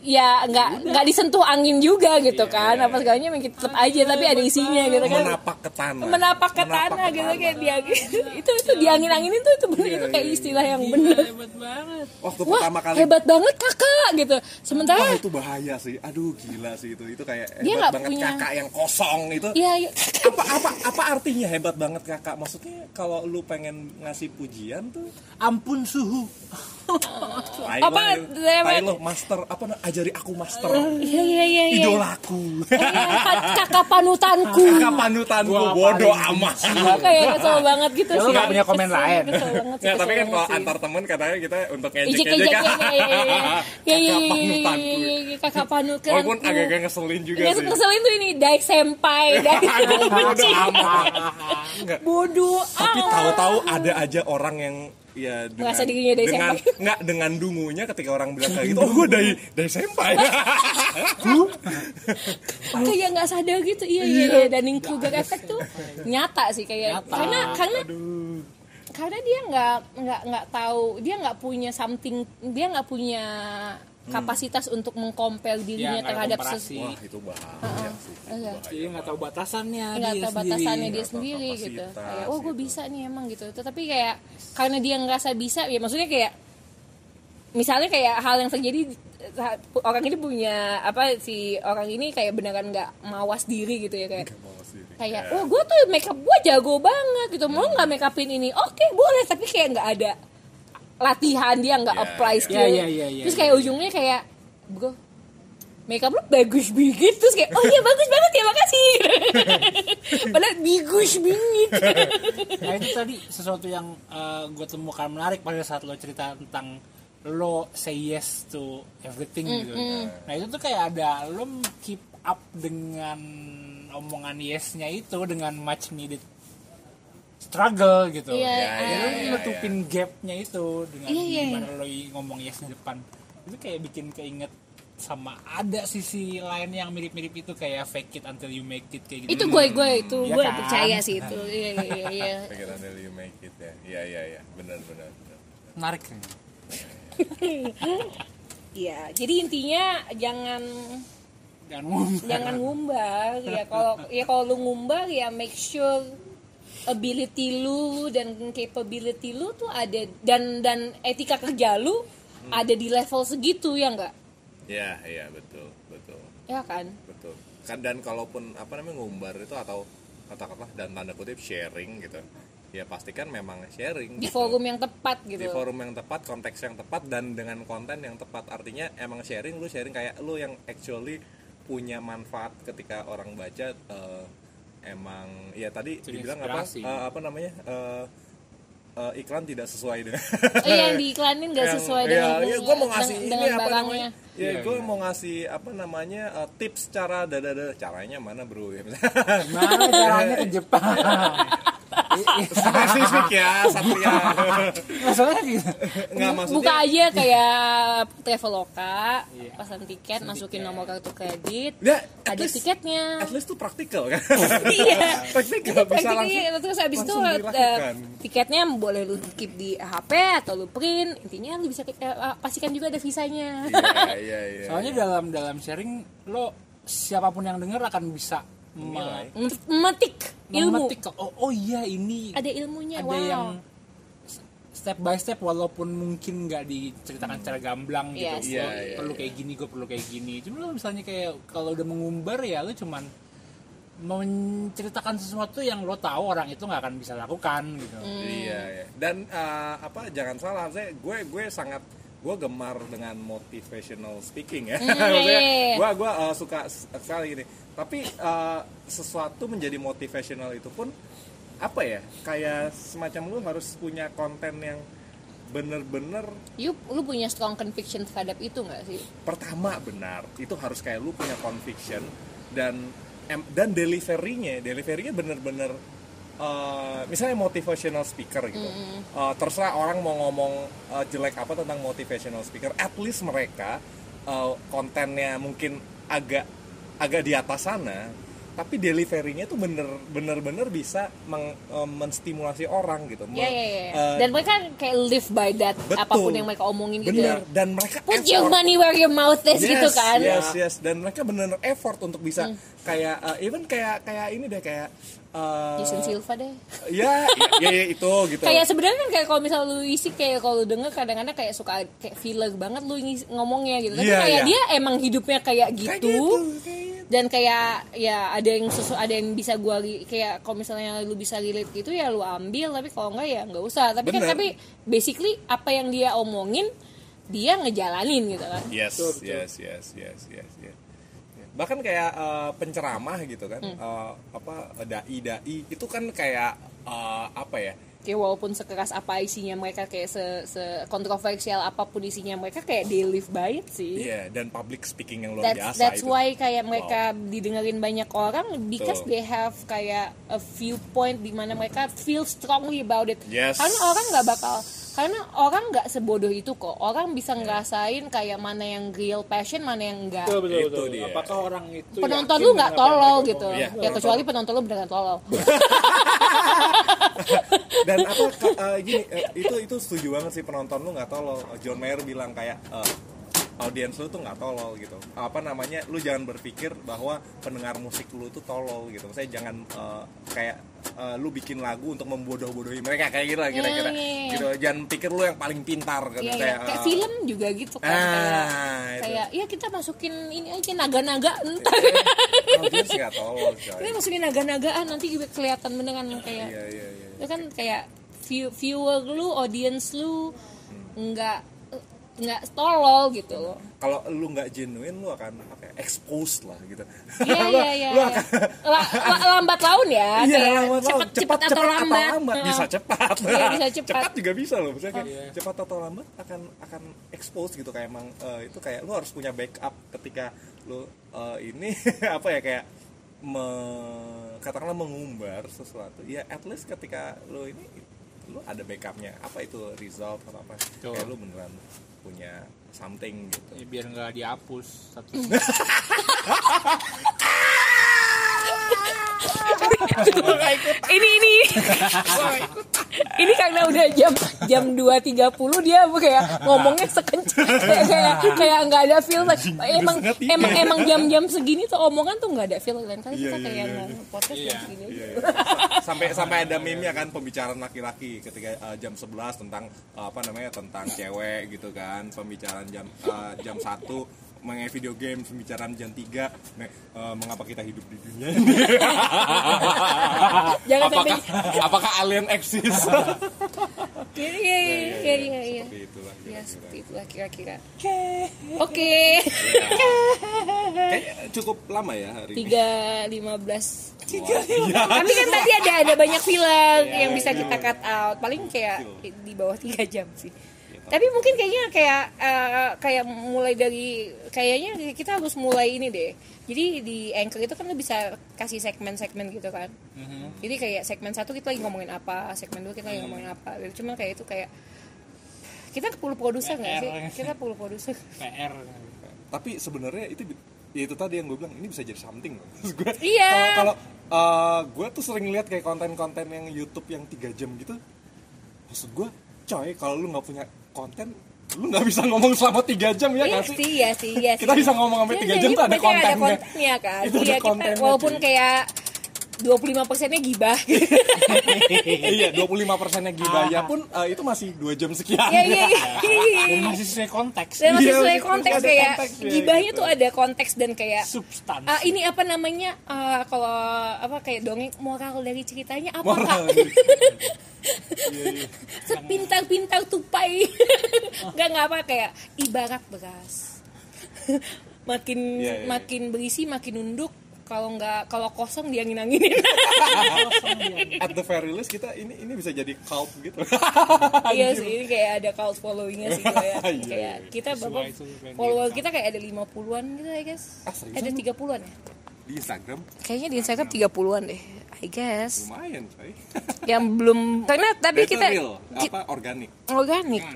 ya nggak nggak disentuh angin juga gitu Iya, kan iya, apa segalanya memang tetap aja tapi ada isinya gitu kan menapak ke tanah menapak ke tanah gitu kayak dia itu itu di angin anginin tuh itu bener itu kayak istilah yang bener Hebat banget. waktu wah pertama kali hebat banget kakak gitu sementara wah itu bahaya sih aduh gila sih itu itu kayak Dia hebat nggak banget punya- kakak yang kosong itu iya iya. apa apa apa artinya hebat banget kakak maksudnya kalau lu pengen ngasih pujian tuh Ampun suhu. tai Apa, lah, saya- tai lo master apa na- ajari aku master iya iya iya iya. idolaku Iya, kakak panutanku kakak panutanku Gua bodoh paling amat Gua kayak kesel banget gitu Ya, lu sih nggak punya komen Kesel, lain. kesel banget sih, Nggak, tapi kesel kan kalau banget sih. antar temen katanya kita untuk Ijek ngejek-ngejek ejek ya ya ya ya ya ya Kakak ya panutanku. ya ya kakak panutanku walaupun agak-agak ngeselin juga Nggak sih ngeselin tuh ini Daik senpai Daik bodoh amat Nggak. bodoh Tapi amat. tahu-tahu ada aja orang yang ya dengan Merasa dirinya dari dengan senpai. nggak dengan dungunya ketika orang bilang kayak gitu oh gue dari dari senpai kayak nggak sadar gitu iya iya iya Dunning Kruger effect tuh nyata sih kayak Nyata. karena karena aduh karena dia nggak nggak nggak tahu dia nggak punya something dia nggak punya kapasitas untuk mengcompare dirinya Ya, nggak ada terhadap komparasi. sesuatu wah itu bahaya sih itu Iya. bahaya. Jadi nggak tahu batasannya nggak dia tahu sendiri. batasannya dia Nggak tahu sendiri gitu kapasitas kayak oh gue gitu. bisa nih emang gitu tetapi kayak karena dia ngerasa bisa ya maksudnya kayak misalnya kayak hal yang terjadi orang ini punya apa si orang ini kayak beneran nggak mawas diri gitu ya kayak Nggak mau sih. kayak Ya. wah gue tuh make up gue jago banget gitu mau nggak make upin ini oke boleh tapi kayak nggak ada latihan dia nggak Ya, apply ya. skill Ya, ya, ya, ya, terus ya. kayak ujungnya kayak bro make up lu bagus banget terus kayak oh iya bagus banget ya makasih padahal bagus banget Nah itu tadi sesuatu yang gue temukan menarik pada saat lo cerita tentang lo say yes to everything gitu. Nah itu tuh kayak ada lo keep up dengan omongan yesnya itu dengan much needed struggle gitu. Iya, Ya, Jadi ya, lo ya, nutupin gapnya itu dengan Iya, iya. gimana lo ngomong yes di depan. Itu kayak bikin keinget sama ada sisi lain yang mirip-mirip itu kayak fake it until you make it kayak gitu. itu gue gue itu Iya gue kan? percaya sih itu iya iya iya Pikiran dari you make it ya iya iya iya benar benar benar. Menarik kan? iya jadi intinya jangan Dan ngomong. jangan ngumbar ya kalau ya kalau lu ngumbar ya make sure ability lu dan capability lu tuh ada dan dan etika kerja lu ada di level segitu ya enggak Iya, iya betul, betul, ya kan betul. Kan dan kalaupun apa namanya ngumbar itu atau katakanlah dan tanda kutip sharing gitu, ya pastikan memang sharing. di gitu. forum yang tepat gitu Di forum yang tepat, konteks yang tepat dan dengan konten yang tepat. Artinya emang sharing, lu sharing kayak lu yang actually punya manfaat ketika orang baca. eh, emang, ya tadi Jadi dibilang apa? inspirasi. eh, apa namanya? eh, eh, iklan tidak sesuai dengan. oh, yang diiklanin gak Yang- sesuai ya, dengan ya, gue mau ngasih dengan, ini dengan apa barangnya namanya ya Iya, gue iya. mau ngasih apa namanya eh, tips cara dada caranya mana bro ya Mana caranya ke Jepang? spesifik ya Satria Masalahnya gitu. nggak buka maksudnya aja kayak Traveloka Iya. pesan tiket masukin nomor kartu kredit ya at ada least, tiketnya at least tuh praktikal kan iya praktikal bisa langsung praktiknya terus habis itu langsung eh, dilakukan. tiketnya boleh lu keep di H P atau lu print intinya lu bisa eh, pastikan juga ada visanya iya iya iya Soalnya dalam dalam sharing lo siapapun yang dengar akan bisa Menilai. me- memetik ilmu memetik oh, oh iya ini ada ilmunya ada wow yang step by step walaupun mungkin nggak diceritakan secara gamblang gitu. Yes. Lo Iya, iya, perlu iya. kayak gini, gue perlu kayak gini. Cuma lo misalnya kayak kalau udah mengumbar ya lo cuman menceritakan sesuatu yang lo tahu orang itu nggak akan bisa lakukan gitu. Iya, iya. Dan uh, apa jangan salah, saya gue gue sangat gue gemar dengan motivational speaking ya. Maksudnya iya. gue gue uh, suka sekali ini. Tapi uh, sesuatu menjadi motivational itu pun apa ya? Kayak semacam lu harus punya konten yang bener-bener you, lu punya strong conviction terhadap itu nggak sih pertama benar. Itu harus kayak lu punya conviction dan em- dan delivery-nya, delivery-nya bener-bener Uh, misalnya motivational speaker gitu, Mm-hmm. uh, terserah orang mau ngomong uh, jelek apa tentang motivational speaker, at least mereka uh, kontennya mungkin agak agak di atas sana, tapi delivery-nya tuh bener bener bener bisa meng, um, menstimulasi orang gitu. Iya iya iya. Dan mereka kayak live by that, betul, apapun yang mereka omongin gitu. Bener. Dan mereka put effort. your money where your mouth is Yes, gitu kan. Yes yes. Dan mereka bener effort untuk bisa hmm. kayak uh, even kayak kayak ini deh kayak uh, Jason Silva deh. Ya, ya, ya itu gitu. Kayak sebenarnya kan kayak kalau misalnya lu isi kayak kalau lu denger kadang-kadang kayak suka kayak filler banget lu ngomongnya gitu. Tapi yeah, kayak yeah. dia emang hidupnya kayak gitu. Kayak gitu, kayak gitu. Dan kayak ya ada yang sesu, ada yang bisa gua kayak kalau misalnya lu bisa relate gitu ya lu ambil, tapi kalau enggak ya enggak usah. Tapi Bener. kan tapi basically apa yang dia omongin dia ngejalanin gitu kan. Yes, betul, betul. yes, yes, yes, yes, yes. Bahkan kayak uh, penceramah gitu kan, hmm. uh, apa dai-dai itu kan kayak uh, apa ya? Kayak walaupun sekeras apa isinya mereka, kayak se, se kontroversial apapun isinya mereka, kayak they live by it sih. Iya, yeah, dan public speaking yang luar that's, biasa that's itu. why kayak mereka wow. didengerin banyak orang because so. they have kayak a viewpoint di mana mereka feel strongly about it. Yes. Karena orang nggak bakal, karena orang nggak sebodoh itu kok. Orang bisa ngerasain kayak mana yang real passion, mana yang enggak. Betul, betul, itu betul. dia. Apakah orang itu penonton lu nggak tolol gitu. Ya, ya kecuali penonton lu beneran tolol. Dan apa uh, gini uh, itu itu setuju banget sih, penonton lu nggak tolol. John Mayer bilang kayak uh, audiens lu tuh nggak tolol gitu. Apa namanya, lu jangan berpikir bahwa pendengar musik lu tuh tolol gitu. Saya jangan uh, kayak uh, lu bikin lagu untuk membodoh-bodohi mereka kayak gitu lah kira-kira. Yeah, yeah, yeah. Gitu. Jangan pikir lu yang paling pintar gitu. Yeah, kayak, yeah. kayak uh, film juga gitu kan. Ah, kayak, kayak ya kita masukin ini aja naga-naga entar. Audiens nggak tolol. Coy. Kita masukin naga-nagaan nanti juga kelihatan beneran kayak. Iya, iya, iya. Itu kan kayak view, viewer lu, audience lu nggak nggak tolol gitu loh. Kalau lu nggak genuine, lu akan apa ya, exposed lah gitu. Iya iya iya. La, la, lambat laun ya. Iya, kayak lambat cepet, laun. cepet, Cepat, atau cepat lambat. atau lambat. Bisa cepat. Iya, bisa cepat. Cepat juga bisa loh. Misalnya kayak Iya. cepat atau lambat akan akan expose gitu, kayak emang uh, itu kayak lu harus punya backup ketika lu uh, ini apa ya kayak me, katakanlah mengumbar sesuatu. Ya at least ketika lu ini lu ada backupnya, apa itu result atau apa. Betul. Kayak lu beneran punya something gitu. Ya, biar nggak dihapus satu. ini ini ini karena udah jam jam dua tiga puluh dia kayak ngomongnya sekencang kayak kayak kayak nggak ada feel. Emang emang emang jam-jam segini tuh omongan tuh nggak ada feel. Lain kali kita kayak podcast Iya. segini. Iya, iya. sampai sampai ada meme-nya kan, pembicaraan laki-laki ketika uh, jam sebelas tentang uh, apa namanya tentang cewek gitu kan, pembicaraan jam uh, jam satu mengenai video game, pembicaraan jam tiga me, uh, mengapa kita hidup di dunia ini. Jangan apakah sampai apakah alien eksis? iya iya iya iya iya. Seperti itulah Ya kira-kira. seperti itulah kira-kira. Oke. Kayak cukup lama ya hari ini. tiga lima belas Tapi kan tadi ada ada banyak filler yang bisa kita cut out. Paling kayak di bawah tiga jam sih. Tapi mungkin kayaknya kayak uh, kayak mulai dari kayaknya kita harus mulai ini deh. Jadi di Anchor itu kan lo bisa kasih segmen-segmen gitu kan. Mm-hmm. Jadi kayak segmen satu kita lagi ngomongin apa, segmen dua kita lagi ngomongin apa. Cuma kayak itu kayak kita perlu produser nggak sih? Kita perlu produser. P R. Tapi sebenarnya itu ya itu tadi yang gue bilang, ini bisa jadi something. Terus gue Iya. kalau uh, gue tuh sering lihat kayak konten-konten yang YouTube yang tiga jam gitu. Maksud gue, coy, kalau lu nggak punya konten, lu nggak bisa ngomong selama tiga jam ya Iya nggak sih? sih, iya sih, iya sih. Kita bisa ngomong sampai tiga jam tuh ada kontennya. Ada kontennya kan. Itu ada Iya, kita, kontennya, walaupun cuy. kayak dua puluh lima persennya gibah. Iya, dua puluh lima persennya gibah ya pun uh, itu masih dua jam sekian. Iya, iya, iya. Dan masih sesuai konteks. Dan masih Iya, sesuai masih konteks ada kayak konteks, ya, gibahnya gitu. tuh ada konteks dan kayak Substansi. ah, ini apa namanya ah, kalau apa kayak dongeng moral dari ceritanya apa Moral. Kak? Sepintar-pintar tupai. Enggak enggak apa kayak ibarat beras. makin Iya, iya. makin berisi makin nunduk. Kalau nggak kalau kosong dia angin-anginin. At the very least kita ini ini bisa jadi cult gitu. Iya sih, ini kayak ada cult followingnya sih kayak, Iya, kayak iya. kita Sesuai bapak itu, branding. follower kita kayak ada lima puluhan gitu I guess. Ah, seriusan Ada lu? tiga puluhan ya? Di Instagram Kayaknya di Instagram tiga puluhan deh, I guess. lumayan, coy. Yang belum karena tapi Itu kita real, ki- apa organik. organik.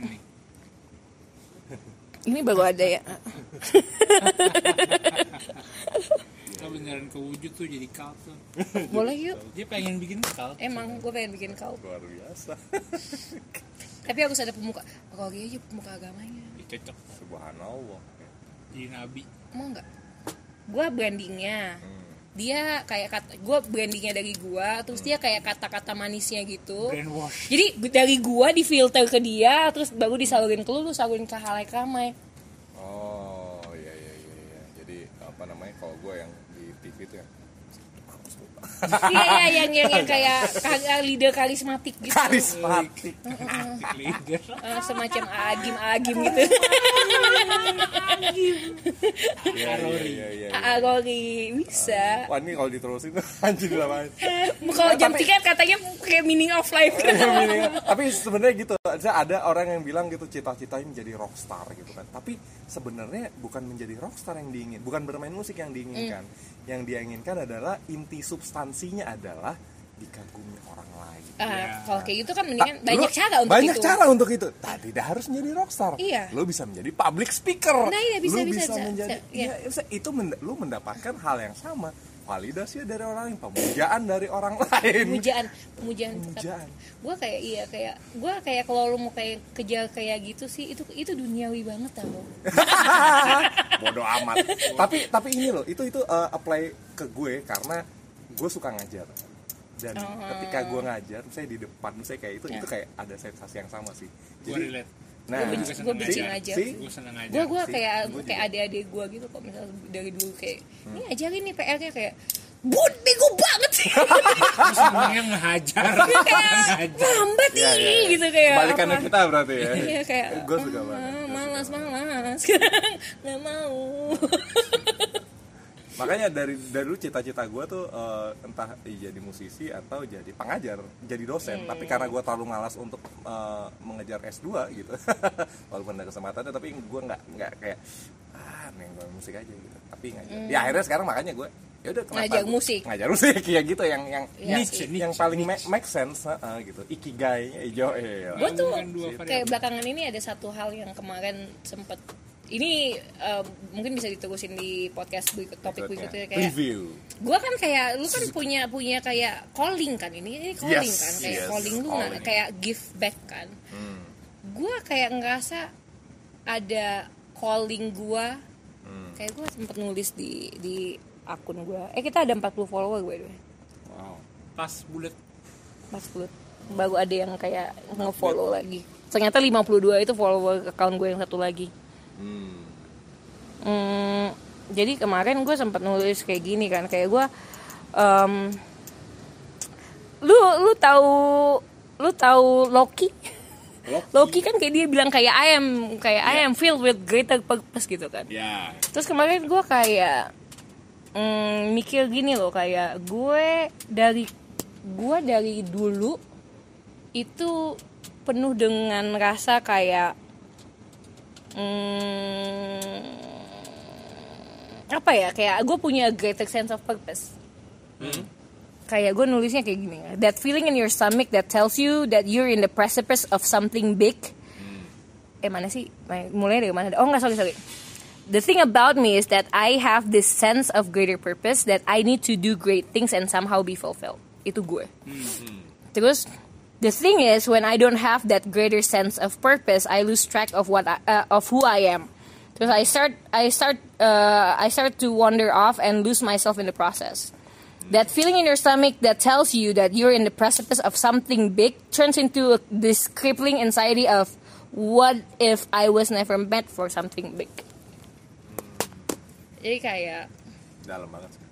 Ini baru ada ya. Oh, bener. beneran kewujud tuh jadi cult tuh. Boleh yuk. Dia pengen bikin cult. Emang gue pengen bikin cult. Luar biasa. Tapi harus ada pemuka. Kalau dia aja pemuka agamanya. Ya, cocok. Subhanallah. Jadi nabi. Mau nggak? Gue brandingnya. Hmm. Dia kayak kata, gue brandingnya dari gue, terus dia kayak kata-kata manisnya gitu. Brainwash. Jadi dari gue difilter ke dia, terus baru disalurin ke lu, lu salurin ke halayak ramai. Oh iya iya iya iya. Jadi apa namanya kalau gue yang di T V itu ya. Iya iya yang yang, yang kayak kar- leader karismatik gitu. Karismatik. Leader. Uh, semacam agim agim gitu. Iya iya iya iya. Agori bisa. Wah ini kalau diterusin anjir lah. Kalau jam tiket katanya kayak meaning of life. Tapi sebenarnya gitu, ada orang yang bilang gitu cita-citanya menjadi rockstar gitu kan. Tapi sebenarnya bukan menjadi rockstar yang diingin, bukan bermain musik yang diinginkan. Mm. Yang dia inginkan adalah inti substansinya adalah dikagumi orang lain. Uh, Ya. Kalau kayak gitu kan mendingan Ta- banyak lu- cara untuk banyak itu. cara untuk itu. Tak tidak harus menjadi rockstar. Iya. Lu bisa menjadi public speaker. Nah, iya, bisa, lu bisa, bisa, bisa, menjadi bisa, iya. ya, bisa, itu mend- lu mendapatkan hal yang sama. Validasi dari orang lain, pemujaan dari orang lain. Pemujaan, pemujaan. Pemujaan. Gue kayak iya kayak gue kayak kalau lu mau kayak kejar kayak gitu sih itu itu duniawi banget tau. Bodoh amat. tapi tapi ini loh, itu itu uh, apply ke gue karena gue suka ngajar. Dan Oh. ketika gue ngajar, saya di depan, saya kayak itu Ya. itu kayak ada sensasi yang sama sih. Gue Jadi, relate. nah, Gue benci, gue benci si- ngajar. si- Gue seneng aja. Gue gue sih, kayak gua kayak juga. adik-adik gue gitu kok misalnya dari dulu kayak ini ajarin nih P R-nya kayak bud bego banget sih. Gue senengnya ngehajar. kayak Ngehajar. lambat Iya, nih iya, iya. gitu kayak Kebalikannya apa. kita berarti ya. Iya kayak Gue suka ah, banget. Gua malas suka banget. malas nggak mau. Makanya dari dari dulu cita-cita gue tuh eh, entah jadi musisi atau jadi pengajar, jadi dosen. Hmm. Tapi karena gue terlalu malas untuk eh, mengejar S dua gitu, walaupun ada kesempatannya, tapi gue nggak nggak kayak ah neng gue musik aja gitu. Tapi ngajar. Hmm. Ya akhirnya sekarang makanya gue ya udah kenapa Ngajar gua- musik. ngajar musik ya gitu yang yang Iya yang, sih. yang paling make, make sense uh, gitu. Ikigai ijo eh. Gue tuh Bukan dua variabel. kayak belakangan ini ada satu hal yang kemarin sempet ini eh, mungkin bisa diterusin di podcast berikut, topik berikutnya kayak review. gue kan kayak lu kan punya punya kayak calling kan ini ini calling Yes, kan kayak yes, calling lu nah, calling. kayak give back kan Hmm. gue kayak ngerasa ada calling gue Hmm. kayak gue sempet nulis di di akun gue eh kita ada empat puluh follower by the way Wow. Pas bulat. empat puluh baru ada yang kayak nge-follow lagi ternyata lima puluh dua itu follower account gue yang satu lagi. Hmm. Hmm, jadi kemarin gue sempat nulis kayak gini kan kayak gue um, lu lu tahu lu tahu Loki Loki. Loki kan kayak dia bilang kayak I am kayak I am filled with greater purpose gitu kan. Ya. Terus kemarin gue kayak mm, mikir gini loh kayak gue dari gue dari dulu itu penuh dengan rasa kayak Hmm, apa ya kayak gue punya a greater sense of purpose. Hmm. Kayak gue nulisnya kayak gini, that feeling in your stomach that tells you that you're in the precipice of something big. Hmm. Eh mana sih? Mulai dari mana? Oh nggak sorry sorry. The thing about me is that I have this sense of greater purpose that I need to do great things and somehow be fulfilled. Itu gue. Hmm. Terus the thing is, when I don't have that greater sense of purpose, I lose track of what I, uh, of who I am. Because I start, I start, uh, I start to wander off and lose myself in the process. That feeling in your stomach that tells you that you're in the precipice of something big turns into a, this crippling anxiety of what if I was never meant for something big. Jadi kayak Dalam banget sih.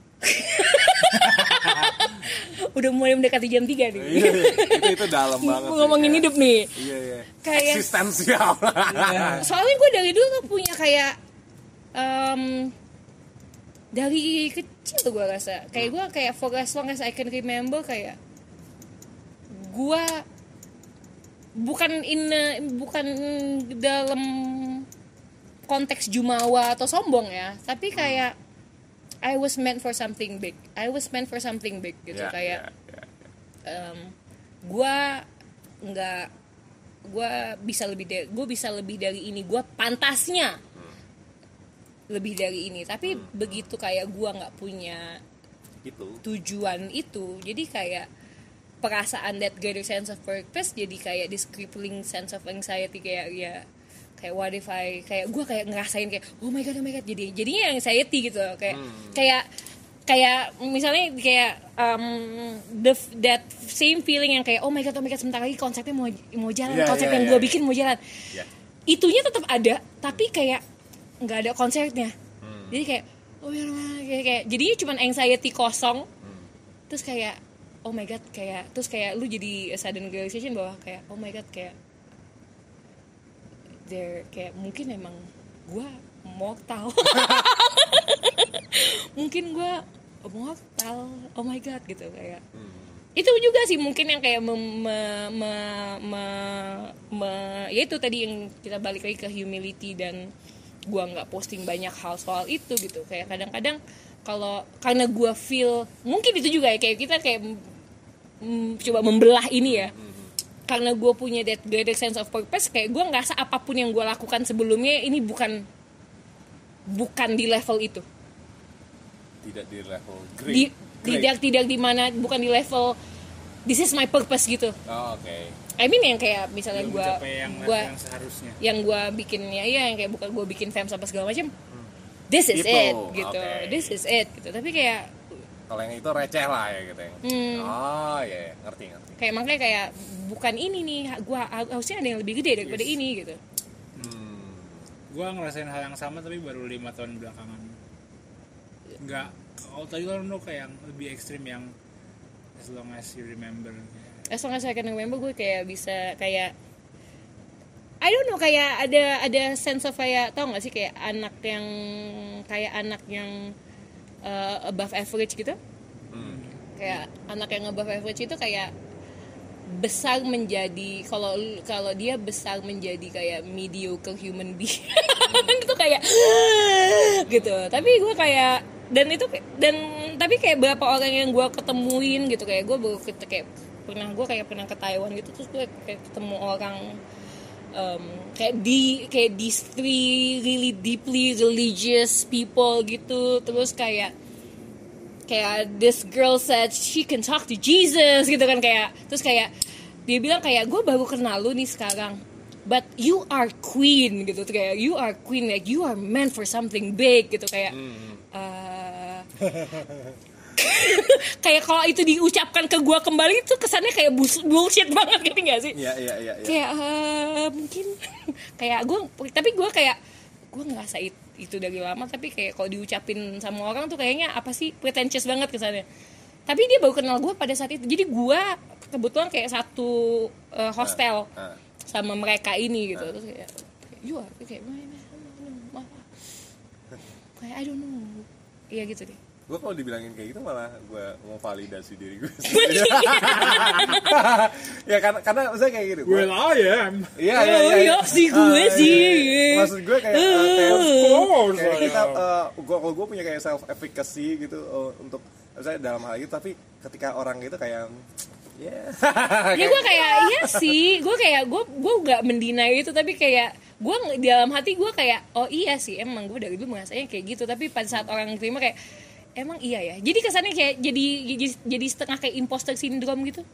udah mulai mendekati jam tiga nih. Iya, iya. itu itu dalam banget. sih, Ngomongin kayak- hidup nih. Iya iya. Kayak- Eksistensial. Soalnya gue dari dulu tuh punya kayak um, dari kecil gue rasa kayak gue kayak for as long as I can remember kayak gue bukan in a- bukan dalam konteks jumawa atau sombong ya, tapi kayak I was meant for something big. I was meant for something big gitu Ya, kayak ya, ya. um, gue nggak gue bisa lebih dari gue bisa lebih dari ini gue pantasnya lebih dari ini. Tapi hmm. begitu kayak gue nggak punya itu tujuan itu, jadi kayak perasaan that greater sense of purpose jadi kayak this crippling sense of anxiety, kayak ya kayak what if I, kayak gue kayak ngerasain kayak oh my god oh my god, jadi jadinya anxiety gitu, kayak hmm. kayak kayak misalnya kayak um, the that same feeling yang kayak oh my god oh my god sebentar lagi konsepnya mau mau jalan, yeah, konsep yeah, yang yeah, gue yeah. bikin mau jalan, yeah. itunya tetap ada tapi kayak nggak ada konsepnya, hmm. jadi kayak oh ya kayak, kayak jadinya cuma anxiety kosong, hmm. terus kayak oh my god, kayak terus kayak lu jadi sudden realization bahwa kayak oh my god, kayak there kayak mungkin emang gue mortal mungkin gue mortal, oh my god gitu, kayak hmm. itu juga sih mungkin yang kayak me, me, me, me, me, ya itu tadi yang kita balik lagi ke humility, dan gue nggak posting banyak hal soal itu gitu, kayak kadang-kadang kalau karena gue feel mungkin itu juga ya kayak kita kayak mm, coba membelah ini ya, karena gue punya that greater sense of purpose, kayak gue ngerasa apapun yang gue lakukan sebelumnya ini bukan bukan di level itu, tidak di level great, di, great. tidak tidak di mana, bukan di level this is my purpose gitu. Oh, oke. Okay. I mean yang kayak misalnya gue gue yang seharusnya yang gue bikinnya ya yang kayak bukan gue bikin fam apa segala macam, hmm. this is itu. It gitu, okay. This is it gitu. Tapi kayak kalau yang itu receh lah ya gitu. Hmm. Oh ya, yeah. ngerti ngerti. Kayak makanya kayak bukan ini nih, gue harusnya ada yang lebih gede daripada yes. ini gitu. Hmm. Gue ngerasain hal yang sama tapi baru lima tahun belakangan. Enggak, kalau tadi lo kayak yang lebih ekstrim yang as long as you remember. As long as I can remember, gue kayak bisa kayak I don't know, kayak ada ada sense of kayak, tau gak sih kayak anak yang kayak anak yang uh, above average gitu, hmm. kayak anak yang above average itu kayak besar menjadi, kalau kalau dia besar menjadi kayak mediocre human being itu kayak gitu. Tapi gue kayak dan itu dan tapi kayak berapa orang yang gue ketemuin gitu, kayak gue baru kayak pernah gue kayak pernah ke Taiwan gitu, terus gue kayak ketemu orang um, kayak di kayak these three really deeply religious people gitu, terus kayak kayak this girl said she can talk to Jesus gitu kan, kayak terus kayak dia bilang kayak gue baru kenal lu nih sekarang, but you are queen gitu, kayak you are queen, like you are meant for something big gitu, kayak hmm. uh, kayak kalau itu diucapkan ke gue kembali itu kesannya kayak bullshit banget gitu nggak sih? Iya iya iya. Kayak uh, mungkin kayak gue, tapi gue kayak gue ngerasa itu, itu dari lama, tapi kayak kalau diucapin sama orang tuh kayaknya apa sih, pretentious banget kesannya. Tapi dia baru kenal gue pada saat itu, jadi gue kebetulan kayak satu uh, hostel uh, uh. sama mereka ini gitu, uh. terus kayak you are kayak kayak I don't know, iya gitu deh. Gue kalau dibilangin kayak gitu malah gue mau validasi diri gue ya karena karena maksudnya kayak gitu, well I am iya iya iya ya sih gue sih maksud gue kayak uh, kayak, of kayak kita uh, gue kalau gue punya kayak self efficacy gitu uh, untuk misalnya dalam hal itu, tapi ketika orang gitu kayak ya yeah. ya gue kayak iya sih, gue kayak gue gue nggak mendinai itu, tapi kayak gue di dalam hati gue kayak oh iya sih emang gue dari dulu merasanya kayak gitu, tapi pada saat orang terima kayak emang iya ya, jadi kesannya kayak jadi jadi, jadi setengah kayak imposter syndrome gitu,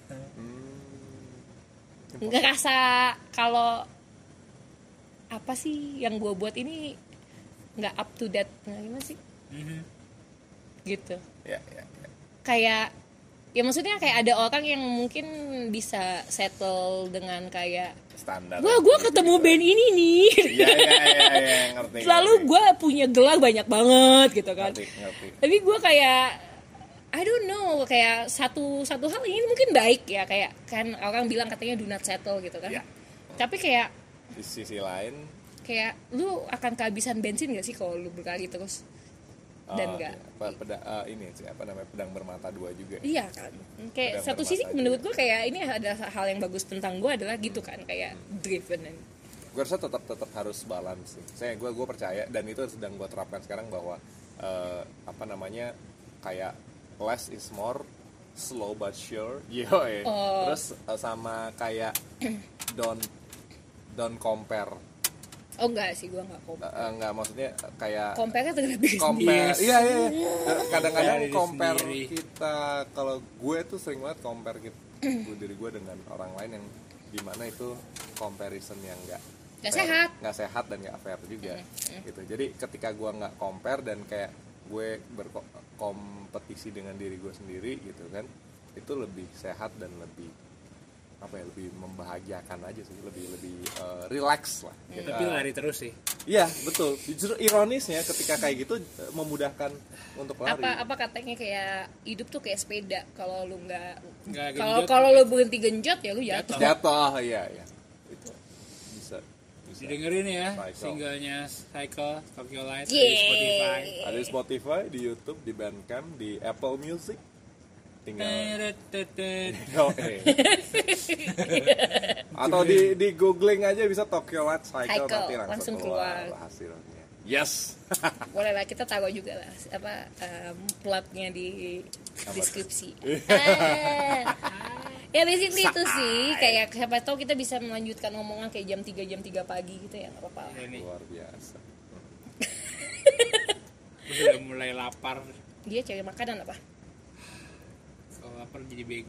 hmm. nggak rasa kalau apa sih yang gue buat ini nggak up to date, nah, gimana sih mm-hmm. gitu ya, ya, ya. Kayak ya maksudnya kayak ada orang yang mungkin bisa settle dengan kayak standar. Wah, gue ketemu gitu. Band ini nih. Iya iya iya, ngerti. Lalu gue punya gelar banyak banget gitu kan. Ngerti, ngerti. Tapi gue kayak I don't know, kayak satu satu hal ini mungkin baik ya, kayak kan orang bilang katanya do not settle gitu kan. Ya. Tapi kayak di sisi lain kayak lu akan kehabisan bensin gak sih kalau lu berkali terus? Dan enggak oh, peda, uh, ini sih apa namanya, pedang bermata dua juga. Iya kan. Kayak pedang satu sisi juga. Menurut gue kayak ini ada hal yang bagus tentang gue adalah gitu kan, kayak hmm. driven. And... Gue rasa tetap tetap harus balance sih. Saya gue gue percaya dan itu sedang gue terapkan sekarang bahwa uh, apa namanya kayak less is more, slow but sure. Yo, eh. oh. Terus uh, sama kayak don't don't compare Oh enggak sih, gue nggak compare. Uh, enggak, maksudnya kayak Compare-nya terhadap diri sendiri. compare. Yes. Iya iya. iya. Kadang-kadang Diri compare sendiri. kita, kalau gue tuh sering banget compare kita, diri gue dengan orang lain yang dimana itu comparison yang enggak Nggak sehat. nggak sehat dan nggak fair juga gitu. Jadi ketika gue nggak compare dan kayak gue berkompetisi dengan diri gue sendiri gitu kan, itu lebih sehat dan lebih apa ya, lebih membahagiakan aja sih, lebih lebih uh, relax lah gitu. Tapi lari terus sih. Iya betul, justru ironisnya ketika kayak gitu uh, memudahkan untuk lari. Apa apa katanya kayak hidup tuh kayak sepeda, kalau lu nggak Nggak kalau genjot. kalau lu berhenti genjot ya lu jatuh. Jatuh, iya iya itu bisa bisa. Didengerin ya Cycle. singlenya Cycle Tokyo Light di Yeay. Spotify. Ada di Spotify, di YouTube, di Bandcamp, di Apple Music. Tinggal Oh, eh. atau di di googling aja bisa Tokyo Light Cycle, Cycle, nanti langsung, langsung keluar, keluar. hasilnya. Yes. Boleh lah, kita taruh juga lah apa um, plotnya di deskripsi. Iya. Ah. Ya basically itu sih, kayak siapa tahu kita bisa melanjutkan omongan kayak jam tiga jam tiga pagi gitu ya, nggak apa-apa. Ini Luar biasa. udah mulai lapar. Dia cari makanan apa? Kalau lapar jadi bego.